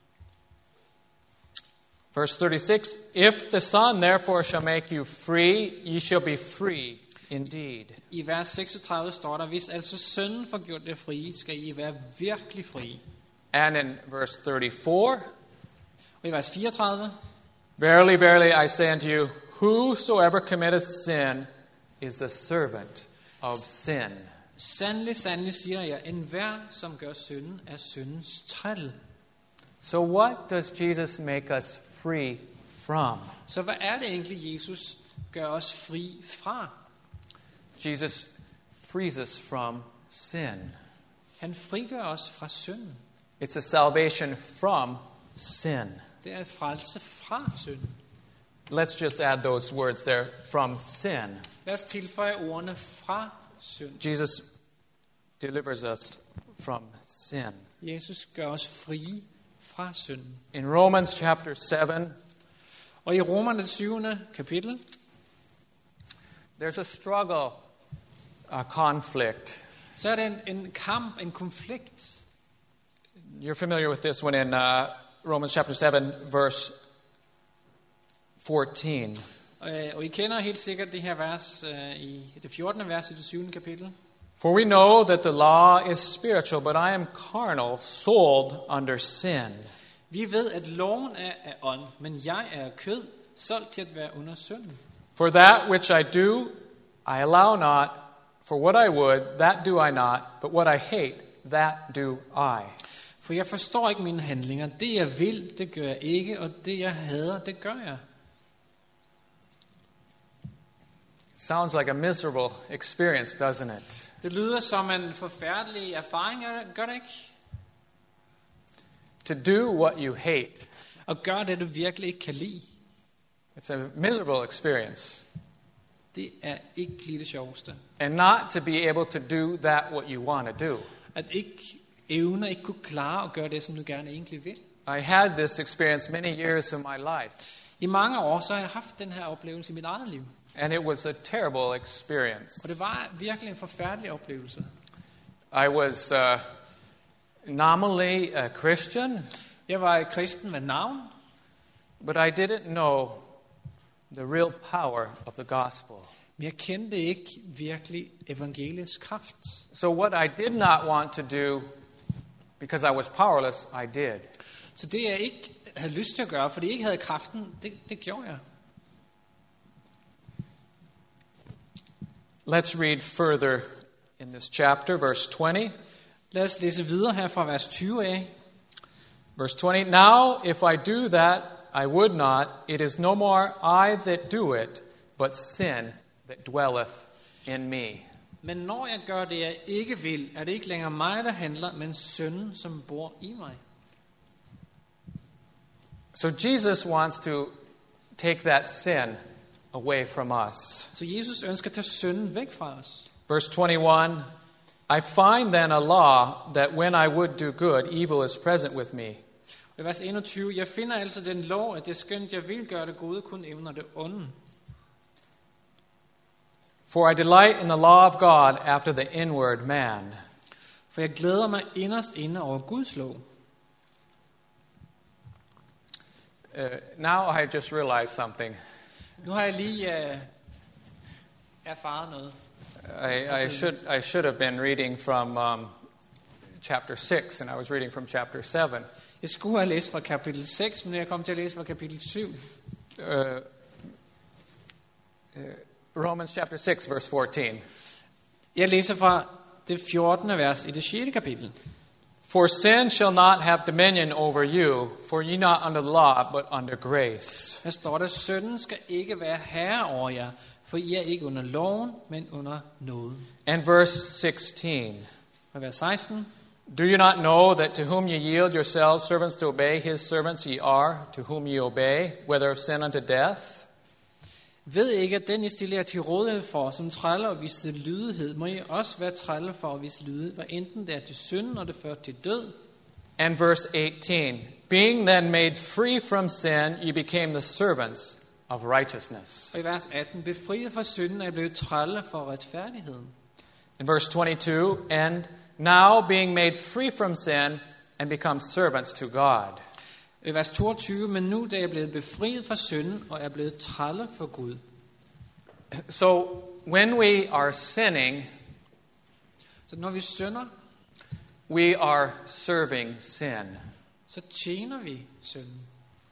verse 36, if the Son therefore shall make you free, ye shall be free indeed. i vers 36 står der, hvis altså sønnen får gjort det frie, skal I være virkelig frie. And in verse 34, Og i vers 34, verily, verily, I say unto you, whosoever committeth sin is the servant of sin. sandelig, sandelig siger jeg, enhver som gør synden er syndens træl. So what does Jesus make us free from? Så hvad er det egentlig, Jesus gør os fri fra? Jesus frees us from sin. Han frigør os fra synden. It's a salvation from sin. Det er et frelse fra synden. Let's just add those words there, from sin. Lad os tilføje ordene fra synd. Jesus delivers us from sin. Jesus gør os frie fra synden. In Romans chapter 7, Og i Romerne 7. kapitel, there's a struggle, a conflict. så er det en kamp, en konflikt. You're familiar with this one in Romans chapter 7, verse 14. Og I kender helt sikkert det her vers i det 14. vers i det 7. kapitel. For we know that the law is spiritual, but I am carnal, sold under sin. Vi ved, at loven er af ånd, men jeg er af kød, solgt til at være under synden. For that which I do, I allow not. For what I would, that do I not. But what I hate, that do I. For jeg forstår ikke mine handlinger. Det jeg vil, det gør jeg ikke, og det jeg hader, det gør jeg. Sounds like a miserable experience, doesn't it? Det lyder som en forfærdelig erfaring, gør det ikke? To do what you hate. Og gør det, du virkelig ikke kan lide. It's a miserable experience. Det er ikke lige det sjoveste. And not to be able to do that what you want to do. At ikke evne, ikke kunne klare at gøre det, som du gerne egentlig vil. I had this experience many years of my life. I mange år så har jeg haft den her oplevelse i mit eget liv. And it was a terrible experience. Og det var virkelig en forfærdelig oplevelse. I was nominally a Christian, Jeg var kristen med navn, but I didn't know the real power of the gospel. men jeg kendte ikke virkelig evangeliets kraft. So what I did not want to do, because I was powerless, I did. Så det jeg ikke havde lyst til at gøre, fordi jeg ikke havde kraften, det gjorde jeg. Let's read further in this chapter, verse 20. Lad os læse videre her fra vers 20 af. Verse 20, now if I do that I would not, it is no more I that do it, but sin that dwelleth in me. Men når jeg gør det, jeg ikke vil, er det ikke længere mig, der handler, men synden, som bor i mig. So Jesus wants to take that sin away from us. Så Jesus ønsker at tage synden væk fra os. Verse 21, I find then a law that when I would do good, evil is present with me. I vers 21, jeg finder altså den lov, at det skønt jeg vil gøre det gode, kun evner det onde. For I delight in the law of God after the inward man. For jeg glæder mig inderst inde over Guds lov. Now I just realized something. Nu har jeg lige erfaret noget. I should have been reading from chapter 6, and I was reading from chapter 7. Jeg skulle have læst fra kapitel 6, men jeg kom til at læse fra kapitel 7. Romans chapter 6, verse 14. Jeg læser fra det 14. vers i det 6. kapitel. For sin shall not have dominion over you, for ye not under the law, but under grace. Her står der, synden skal ikke være herre over jer, for I er ikke under loven, men under nåde. And verse 16. Og vers 16. Do you not know that to whom ye yield yourselves servants to obey, his servants ye are, to whom ye obey, whether of sin unto death? Ved ikke, at den I stiller til rådighed for, som træller og vise lydighed, må I også være træller for at vise lydighed, hvad enten det er til synd, og det fører til død. And verse 18, being then made free from sin, ye became the servants of righteousness. Og i vers 18, befriet fra synden er blevet træller for retfærdigheden. In verse 22, and now being made free from sin, and become servants to God. I vers 22, men nu da jeg er blevet befriet fra synden, og er blevet træller for Gud. So when we are sinning, Så når vi synder, we are serving sin. så tjener vi synden.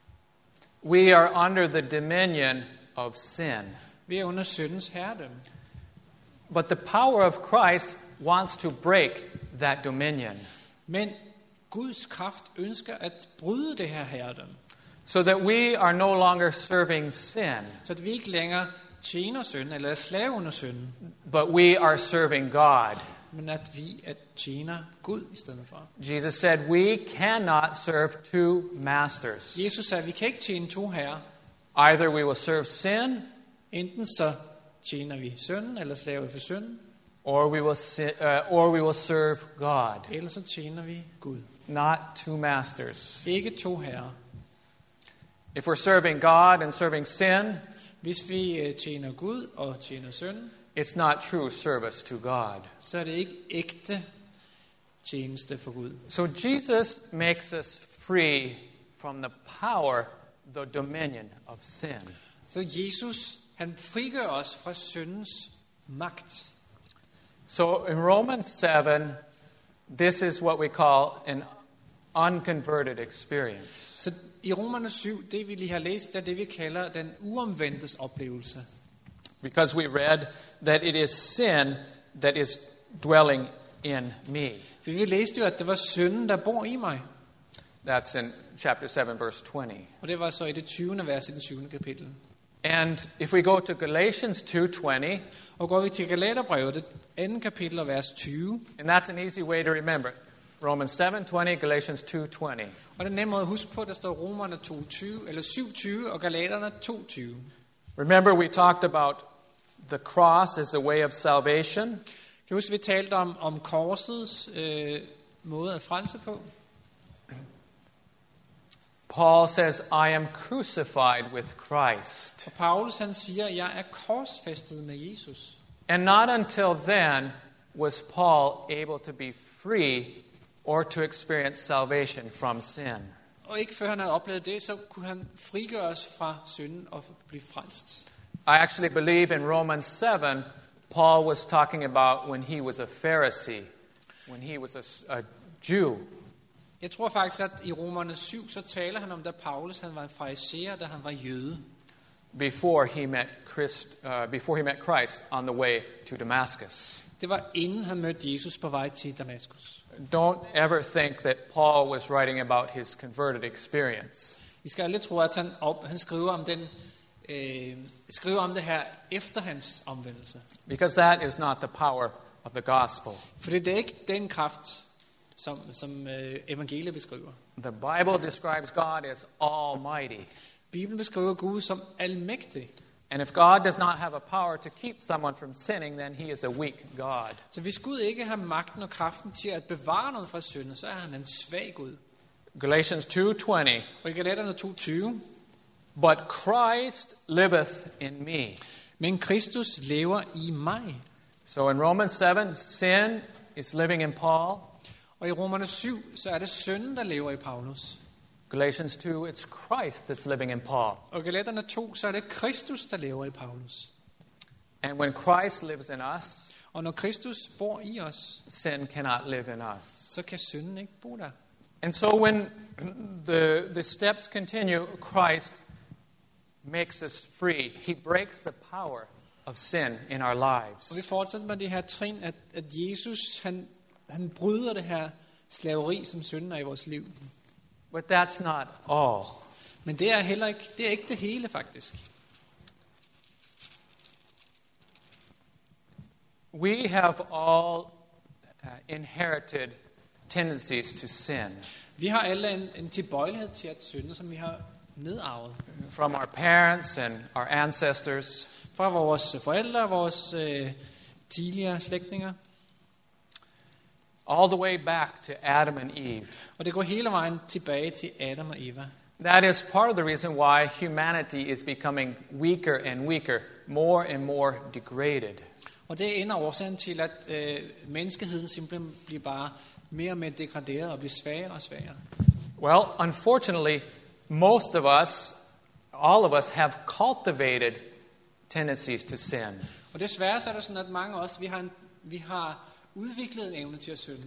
We are under the dominion of sin. Vi er under syndens herredømme. But the power of Christ wants to break that dominion, Men Guds kraft ønsker at bryde det her herredømme, so that we are no longer serving sin, så at vi ikke længere tjener synden eller er slave under synden, but we are serving God. men at vi tjener Gud i stedet for. Jesus said, we cannot serve two masters. Jesus sagde, at vi kan ikke tjene to herrer. Either we will serve sin, Enten så tjener vi synden, eller slave for synden, or we will serve God. eller så tjener vi Gud. Not two masters. Ikke to herrer. If we're serving God and serving sin, Hvis vi tjener Gud og tjener synden, it's not true service to God. så er det ikke ægte tjeneste for Gud. So Jesus makes us free from the power, the dominion of sin. Så Jesus, han frigør os fra syndens magt. So in Romans 7, this is what we call an unconverted experience. Så i Romerne 7, det vi lige har læst, er det vi kalder den uomvendtes oplevelse. Because we read that it is sin that is dwelling in me. For vi læste jo, at det var synden, der bor i mig. That's in chapter 7, verse 20. Og det var så i det 20. vers i den 7. kapitel. And if we go to Galatians 2:20, Og går vi til Galaterbrevet, det 2. kapitel og vers 20. and that's an easy way to remember. Romans 7:20, Galatians 2:20. Og den nemme måde at huske på, der står Romerne 2:20, eller 7:20 og Galaterne 2:20. Remember we talked about the cross as a way of salvation. Kan du huske, vi talte om korsets måde at frelse på? Paul says, I am crucified with Christ. Og Paulus han siger, jeg er korsfæstet med Jesus. And not until then was Paul able to be free or to experience salvation from sin. Og ikke før han havde oplevet det, så kunne han frigøre os fra synden og blive frelst. I actually believe in Romans 7, Paul was talking about when he was a Pharisee, when he was a Jew. Jeg tror faktisk, at i Romerne 7, så taler han om, da Paulus han var en fariseer, da han var jøde. Before he met Christ on the way to Damascus. Det var inden han mødte Jesus på vej til Damaskus. Don't ever think that Paul was writing about his converted experience. I skal aldrig tro, at han skriver om det her efter hans omvendelse. Because that is not the power of the gospel. For det er ikke den kraft, som evangeliet beskriver. The Bible describes God as almighty. Bibelen beskriver Gud som almægtig. And if God does not have a power to keep someone from sinning, then he is a weak God. Så hvis Gud ikke har magten og kraften til at bevare noget fra synden, så er han en svag Gud. Galatians 2:20. Og i Galaterne 2:20. But Christ liveth in me. Men Kristus lever i mig. So in Romans 7, sin is living in Paul. Og i Romerne 7, så er det synden, der lever i Paulus. Galatians 2, it's Christ that's living in Paul. Og i Galaterne 2, så er det Kristus, der lever i Paulus. And when Christ lives in us, Og når Kristus bor i os, sin cannot live in us. så kan synden ikke bo der. And so when the steps continue, Christ makes us free. He breaks the power of sin in our lives. Og vi fortsætter med det her trin, at Jesus, han bryder det her slaveri, som synden er i vores liv. But that's not all. Men det er ikke det hele faktisk. We have all inherited tendencies to sin. Vi har alle en tilbøjelighed til at synde, som vi har nedarvet. from our parents and our ancestors. Fra vores forældre og vores tidligere slægtninge. All the way back to Adam and Eve. Og det går hele vejen tilbage til Adam og Eva. That is part of the reason why humanity is becoming weaker and weaker, more and more degraded. Og det er en af årsagen til, at menneskeheden simpelthen bliver bare mere og mere degraderet og bliver svagere og svagere. Well, unfortunately, most of us, all of us, have cultivated tendencies to sin. Og desværre så er det sådan, at mange af os, vi har udviklet en evne til at synde.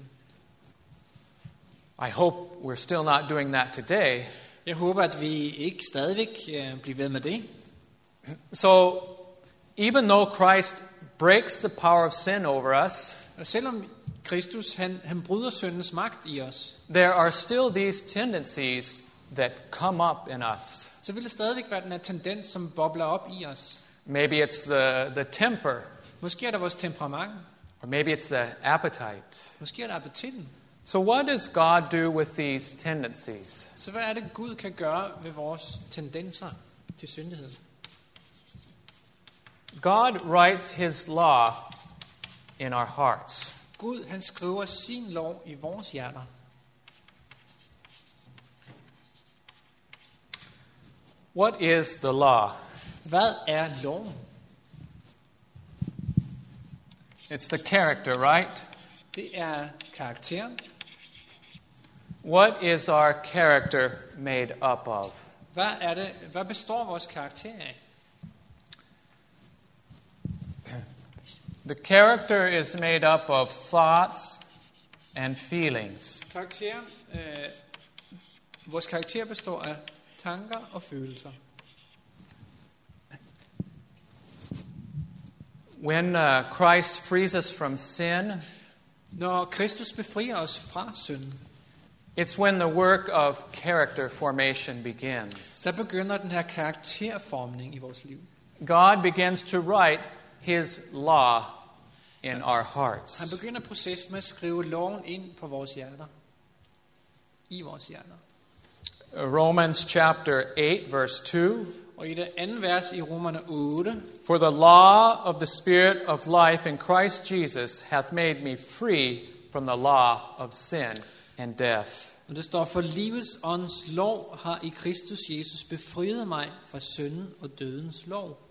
I hope we're still not doing that today. Jeg håber, at vi ikke stadigvæk bliver ved med det. So, even though Christ breaks the power of sin over us, Og selvom Kristus han bryder syndens magt i os, there are still these tendencies that come up in us. så vil det stadigvæk være den her tendens, som bobler op i os. Maybe it's the temper, Måske er det vores temperament. or maybe it's the appetite. Måske er det appetitten. So what does God do with these tendencies? Så hvad er det, Gud kan gøre ved vores tendenser til syndighed? God writes his law in our hearts. Gud, han skriver sin lov i vores hjerter. What is the law? Hvad er loven? It's the character, right? Det er karakteren. What is our character made up of? Hvad består vores karakter af? The character is made up of thoughts and feelings. Vores karakter består af tanker og følelser. When Christ frees us from sin, Når Kristus befrier os fra synden, it's when the work of character formation begins. der begynder den her karakterformning i vores liv. God begins to write his law in our hearts. Han begynder processen med at skrive loven ind på vores hjerter. I vores hjerter. Romans chapter 8 verse 2. Og i det andet vers i Romerne 8, For the law of the Spirit of life in Christ Jesus hath made me free from the law of sin and death. og det står, for livets ånds lov har i Kristus Jesus befriet mig fra synden og dødens lov.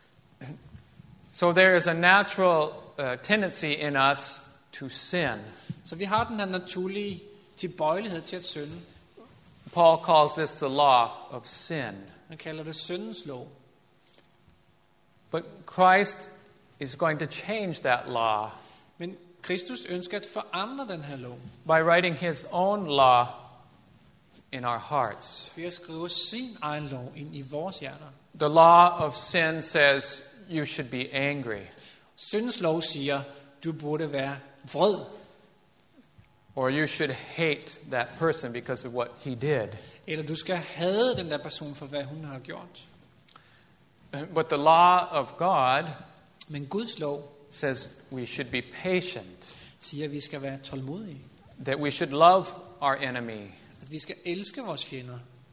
So there is a natural tendency in us to sin. Så vi har den her naturlige tilbøjelighed til at synde. Paul calls this the law of sin. Man kalder det syndens lov. But Christ is going to change that law Men Kristus ønsker at forandre den her lov by writing his own law in our hearts. ved at skrive sin egen lov ind i vores hjerter. The law of sin says you should be angry, Syndens lov siger, du burde være vred, or you should hate that person because of what he did. eller du skal hade den der person for, hvad hun har gjort. But the law of God Men Guds lov says we should be patient, siger, at vi skal være tålmodige. that we should love our enemy. At vi skal elske vores fjender.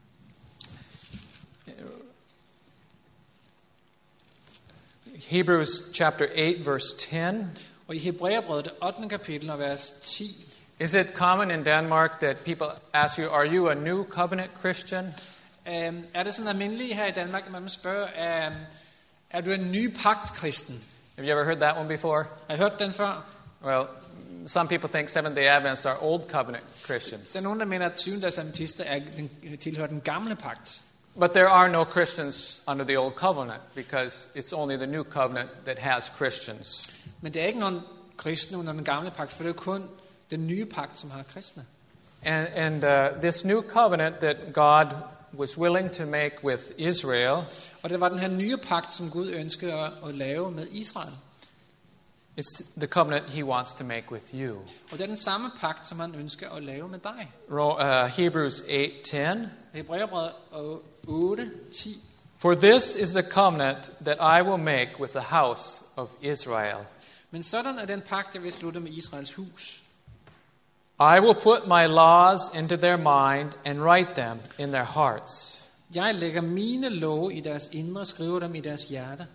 Hebrews chapter 8 verse 10. Og i Hebræerbrevet, det 8. kapitel og vers 10, Is it common in Denmark that people ask you, are you a new covenant Christian? er det sådan almindeligt her i Danmark, at man spørger, er du en ny pagt-kristen? Have you ever heard that one before? Har I hørt den før? Well, some people think Seventh-day Adventists are old covenant Christians. Der er nogen, der mener, at 7. adventister tilhører den gamle pagt. But there are no Christians under the old covenant because it's only the new covenant that has Christians. Men der er ikke nogen kristne under den gamle pagt, for det er kun den nye pagt, som har kristne. And this new covenant that God was willing to make with Israel, Og det var den her nye pagt, som Gud ønskede at lave med Israel. it's the covenant he wants to make with you. Og det er den samme pagt, som han ønsker at lave med dig. Hebrews 8:10. Hebræerbrevet 8:10. For this is the covenant that I will make with the house of Israel. Men sådan er den pagt, jeg vil slutte med Israels hus. I will put my laws into their mind and write them in their hearts. Jeg lægger mine love i deres indre, skriver dem i deres hjerte.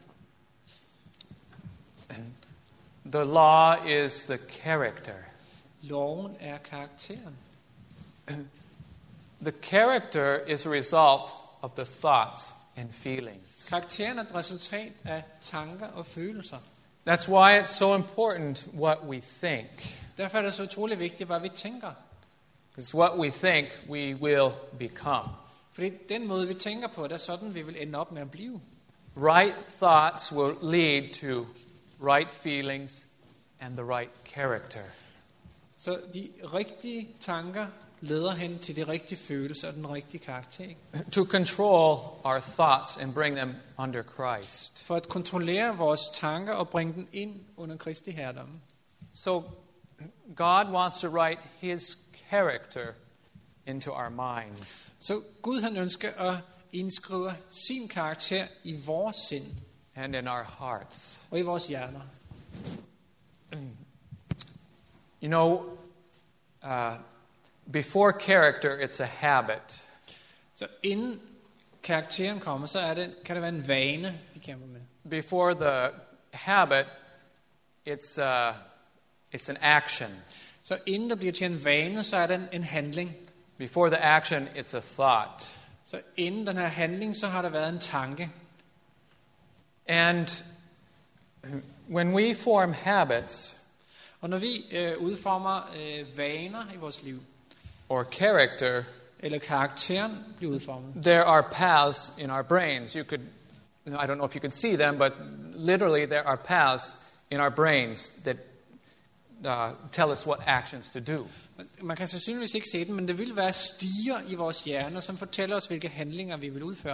The law is the character. Loven er karakteren. The character is a result of the thoughts and feelings. Karakteren er et resultat af tanker og følelser. That's why it's so important what we think. Derfor er det så utrolig vigtigt, hvad vi tænker. Because what we think, we will become. Fordi den måde, vi tænker på, det er sådan, vi vil ende op med at blive. Right thoughts will lead to right feelings and the right character. Så de rigtige tanker leder hen til de rigtige følelser og den rigtige karakter. To control our thoughts and bring them under Christ. For at kontrollere vores tanker og bringe dem ind under Kristi herredom. So God wants to write His character into our minds. Så Gud han ønsker at indskrive sin karakter i vores sind And in our hearts. og i vores hjerner. You know, before character, it's a habit. Så inden karakteren kommer, så kan det være en vane, vi kæmper med. Before the habit, it's an action. Så inden der bliver til en vane, så er det en handling. Before the action, it's a thought. Så inden den her handling, så har der været en tanke. And when we form habits Og når vi udformer vaner i vores liv, or character, eller karakteren bliver udformet, there are paths in our brains. I don't know if you can see them, but literally there are paths in our brains that tell us what actions to do. man kan sandsynligvis ikke se den, men det vil være stiger i vores hjerner, som fortæller os, hvilke handlinger vi vil udføre.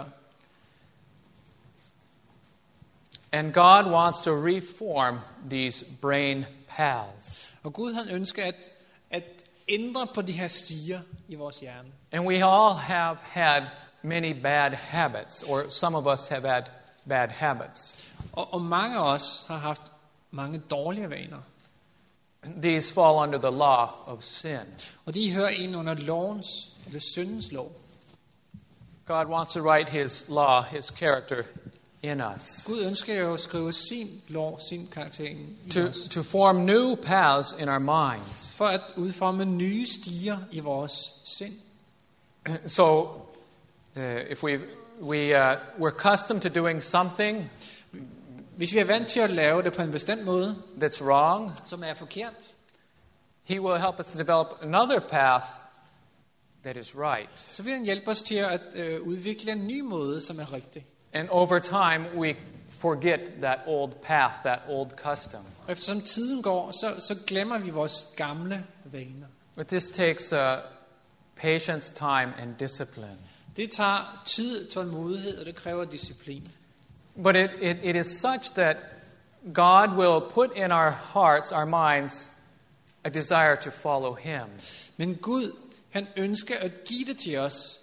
And God wants to reform these brain paths. Og Gud han ønsker at ændre på de her stiger i vores hjerne. And we all have had many bad habits, or some of us have had bad habits. Og mange af os har haft mange dårlige vaner. These fall under the law of sin. Og de hører ind under lovens, eller syndens lov. God wants to write His law, His character in us. Gud ønsker jo at skrive sin lov, sin karakter ind i os. To form new paths in our minds. For at udforme nye stiger i vores sind. So, if we're accustomed to doing something Hvis vi er vant til at lave det på en bestemt måde, that's wrong, som er forkert, He will help us to develop another path that is right. så vil han hjælpe os til at udvikle en ny måde, som er rigtig. And over time, we forget that old path, that old custom. Og eftersom tiden går, så glemmer vi vores gamle vaner. But this takes patience, time, and discipline. Det tager tid, tålmodighed, og det kræver disciplin. But it is such that God will put in our hearts, our minds, a desire to follow Him. Men Gud, han ønsker at give det til os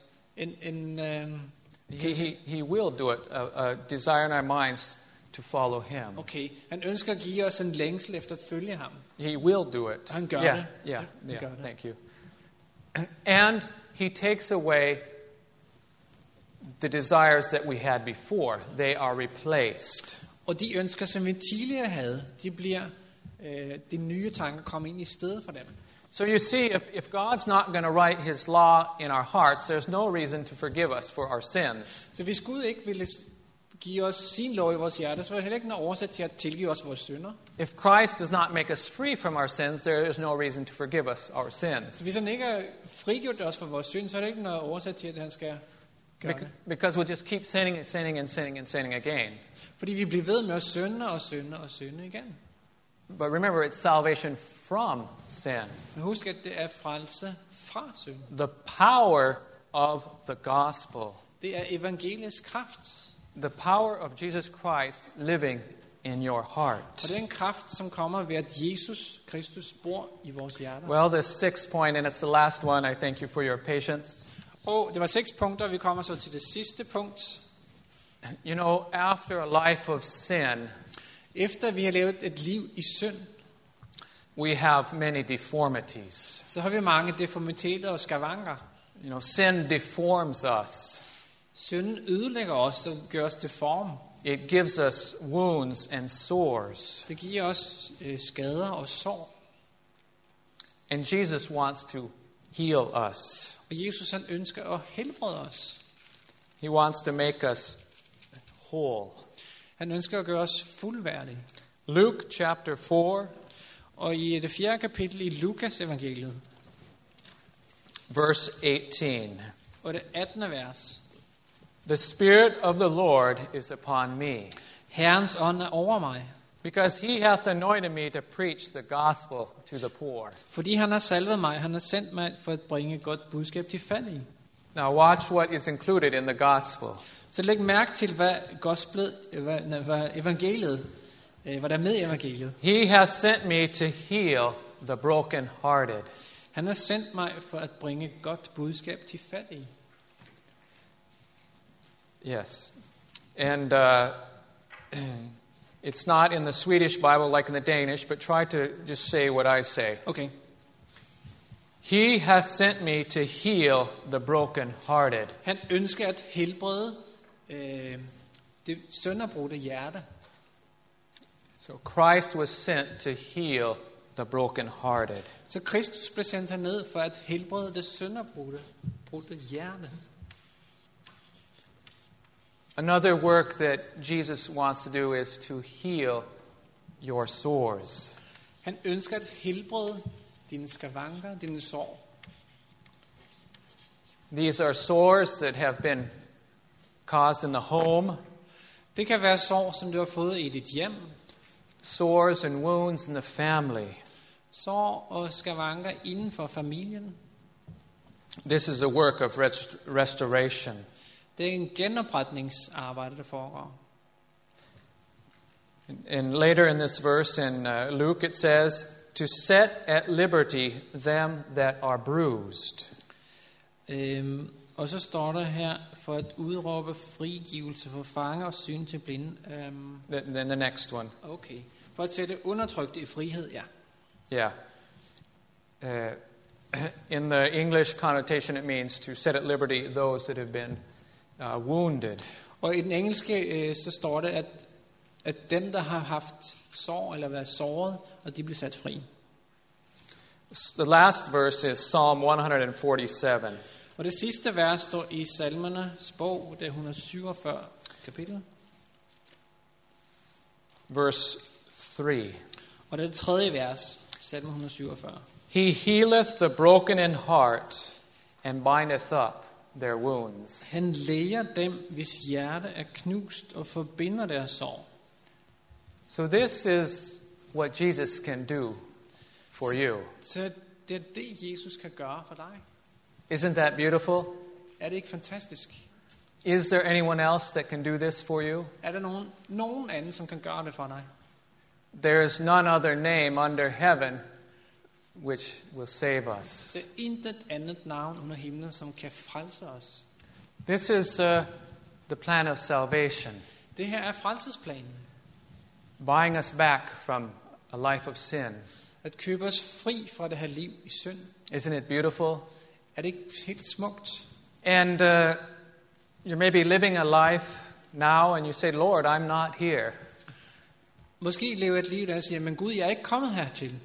He will do it, a desire in our minds to follow Him. Okay, han ønsker at give os en længsel efter at følge ham. He will do it. Han gør Yeah, det. yeah, Han yeah. gør det. Thank you. And He takes away the desires that we had before. They are replaced. Og de ønsker, som vi tidligere havde, de nye tanker kommer ind i stedet for dem. So you see, if God's not going to write His law in our hearts, there's no reason to forgive us for our sins. Så hvis Gud ikke ville give os sin lov i vores hjerte, så var det heller ikke noget årsag til at tilgive os vores synder. If Christ does not make us free from our sins, there is no reason to forgive us our sins. Så hvis han ikke har frigjort os fra vores synd, så er det ikke noget årsag til, at han skal gøre det. Because we'll just keep sinning and sinning and sinning and sinning again. Fordi vi bliver ved med at synde og synde og synde igen. But remember, it's salvation from sin. Men husk, at det er frelse fra synd. The power of the gospel. Det er evangeliets kraft. The power of Jesus Christ living in your heart. Og det er en kraft, som kommer ved, at Jesus Kristus bor i vores hjerter. Well, the sixth point, and it's the last one, I thank you for your patience. Og det var 6 punkter, vi kommer så til det sidste punkt. You know, after a life of sin, Efter vi har levet et liv i synd, we have many deformities. så har vi mange deformiteter og skavanker. You know, sin deforms us. Synden ødelægger os og gør os deform. It gives us wounds and sores. Det giver os skader og sår. And Jesus wants to heal us. Og Jesus han ønsker at helbrede os. He wants to make us whole. Han ønsker at gøre os fuldværdige. Luke chapter 4, Og i det 4. kapitel i Lukas evangeliet, verse 18. og det 18. vers. The Spirit of the Lord is upon me, Herrens ånd er over mig, because he hath anointed me to preach the gospel to the poor. fordi han har salvet mig. Han har sendt mig for at bringe godt budskab til fattige. Now watch what is included in the gospel. Så læg mærke til, hvad evangeliet, hvad der er med i evangeliet. He hath sent me to heal the brokenhearted. Han har sendt mig for at bringe godt budskab til fattige. Yes. And it's not in the Swedish Bible like in the Danish, but try to just say what I say. Okay. He hath sent me to heal the brokenhearted. Han ønsker at helbrede det sønderbrudte hjerte. So Christ was sent to heal the brokenhearted. Så Kristus blev sendt herned for at helbrede det sønderbrudte hjerte. Another work that Jesus wants to do is to heal your sores. Han ønsker at helbrede dine skavanker, dine sår. These are sores that have been caused in the home, Det kan være sår, som du har fået i dit hjem. sores and wounds in the family. Sår og skavanker inden for familien. This is a work of restoration. Det er en genopretningsarbejde, der foregår. And later in this verse in Luke it says, to set at liberty them that are bruised. Og så står der her, for at udråbe frigivelse for fanger og syn til blinde. Then the next one. Okay. For at sætte undertrykte i frihed, ja. Yeah. In the English connotation it means to set at liberty those that have been wounded. Og i den engelske, så står det, at dem, der har haft sår eller været såret, og de bliver sat fri. The last verse is Psalm 147. Og det sidste vers står i Salmernes bog, det 147 kapitel. Verse 3. Og det er det 3. vers, Salme 147. He healeth the broken in heart and bindeth up their wounds. Han læger dem, hvis hjerte er knust, og forbinder deres sår. So this is what Jesus can do for you. Så det er det, Jesus kan gøre for dig. Isn't that beautiful? Er det ikke fantastisk? Is there anyone else that can do this for you? Er der nogen anden, som kan gøre det for dig? There is none other name under heaven which will save us. Det er intet andet navn under himlen, som kan frelse os. This is the plan of salvation, Det her er frelsesplanen. buying us back from a life of sin. At købe os fri fra det her liv i synd. Isn't it beautiful? Er det ikke helt smukt? And you're maybe living a life now and you say, Lord, I'm not here. Måske lever et liv, der siger, men Gud, jeg er ikke kommet hertil.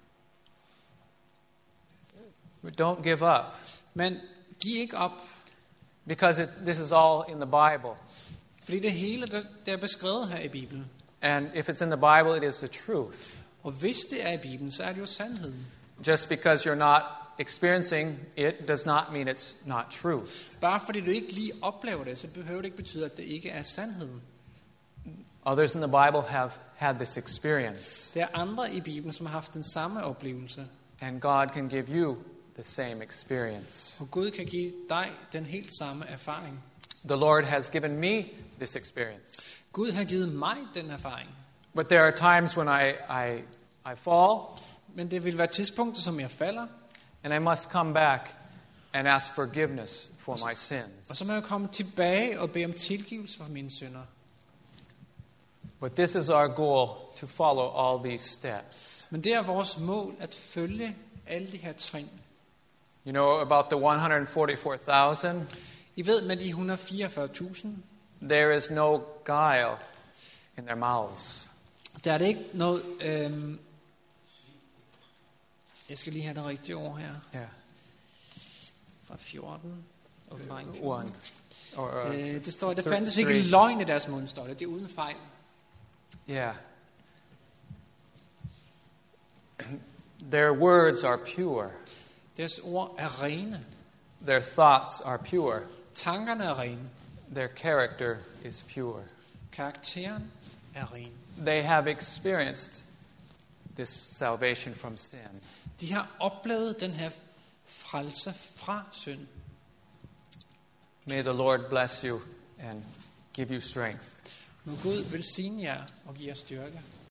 But don't give up, Men giv ikke op, because this is all in the Bible. fordi det hele, der er beskrevet her i Bibelen. And if it's in the Bible, it is the truth. Og hvis det er i Bibelen, så er det jo sandheden. Just because you're not experiencing it does not mean it's not truth. Bare fordi du ikke lige oplever det, så behøver det ikke betyde, at det ikke er sandheden. Others in the Bible have had this experience, Der er andre i Bibelen, som har haft den samme oplevelse. and God can give you the same experience. Og Gud kan give dig den helt samme erfaring. The Lord has given me this experience. Gud har givet mig den erfaring. But there are times when I fall, Men det vil være tidspunkter, som jeg falder, and I must come back and ask forgiveness for my sins. og så må jeg komme tilbage og bede om tilgivelse for mine synder. But this is our goal, to follow all these steps. Men det er vores mål at følge alle de her trin. You know about the 144,000? I ved med de 144.000, there is no guile in their mouths. der er det ikke noget... jeg skal lige have det rigtige ord her. Yeah. Fra 14. Åbenbaring 14. One. Or, Det står, der fandtes ikke 3. løgn i deres mund, står det. Det er uden fejl. Yeah. Their words are pure. Deres ord er rene. Their thoughts are pure. Tankerne er rene. Their character is pure. Karakteren er ren. They have experienced this salvation from sin. De har oplevet den her frelse fra synd. May the Lord bless you and give you strength. Må Gud velsigne jer og give jer styrke.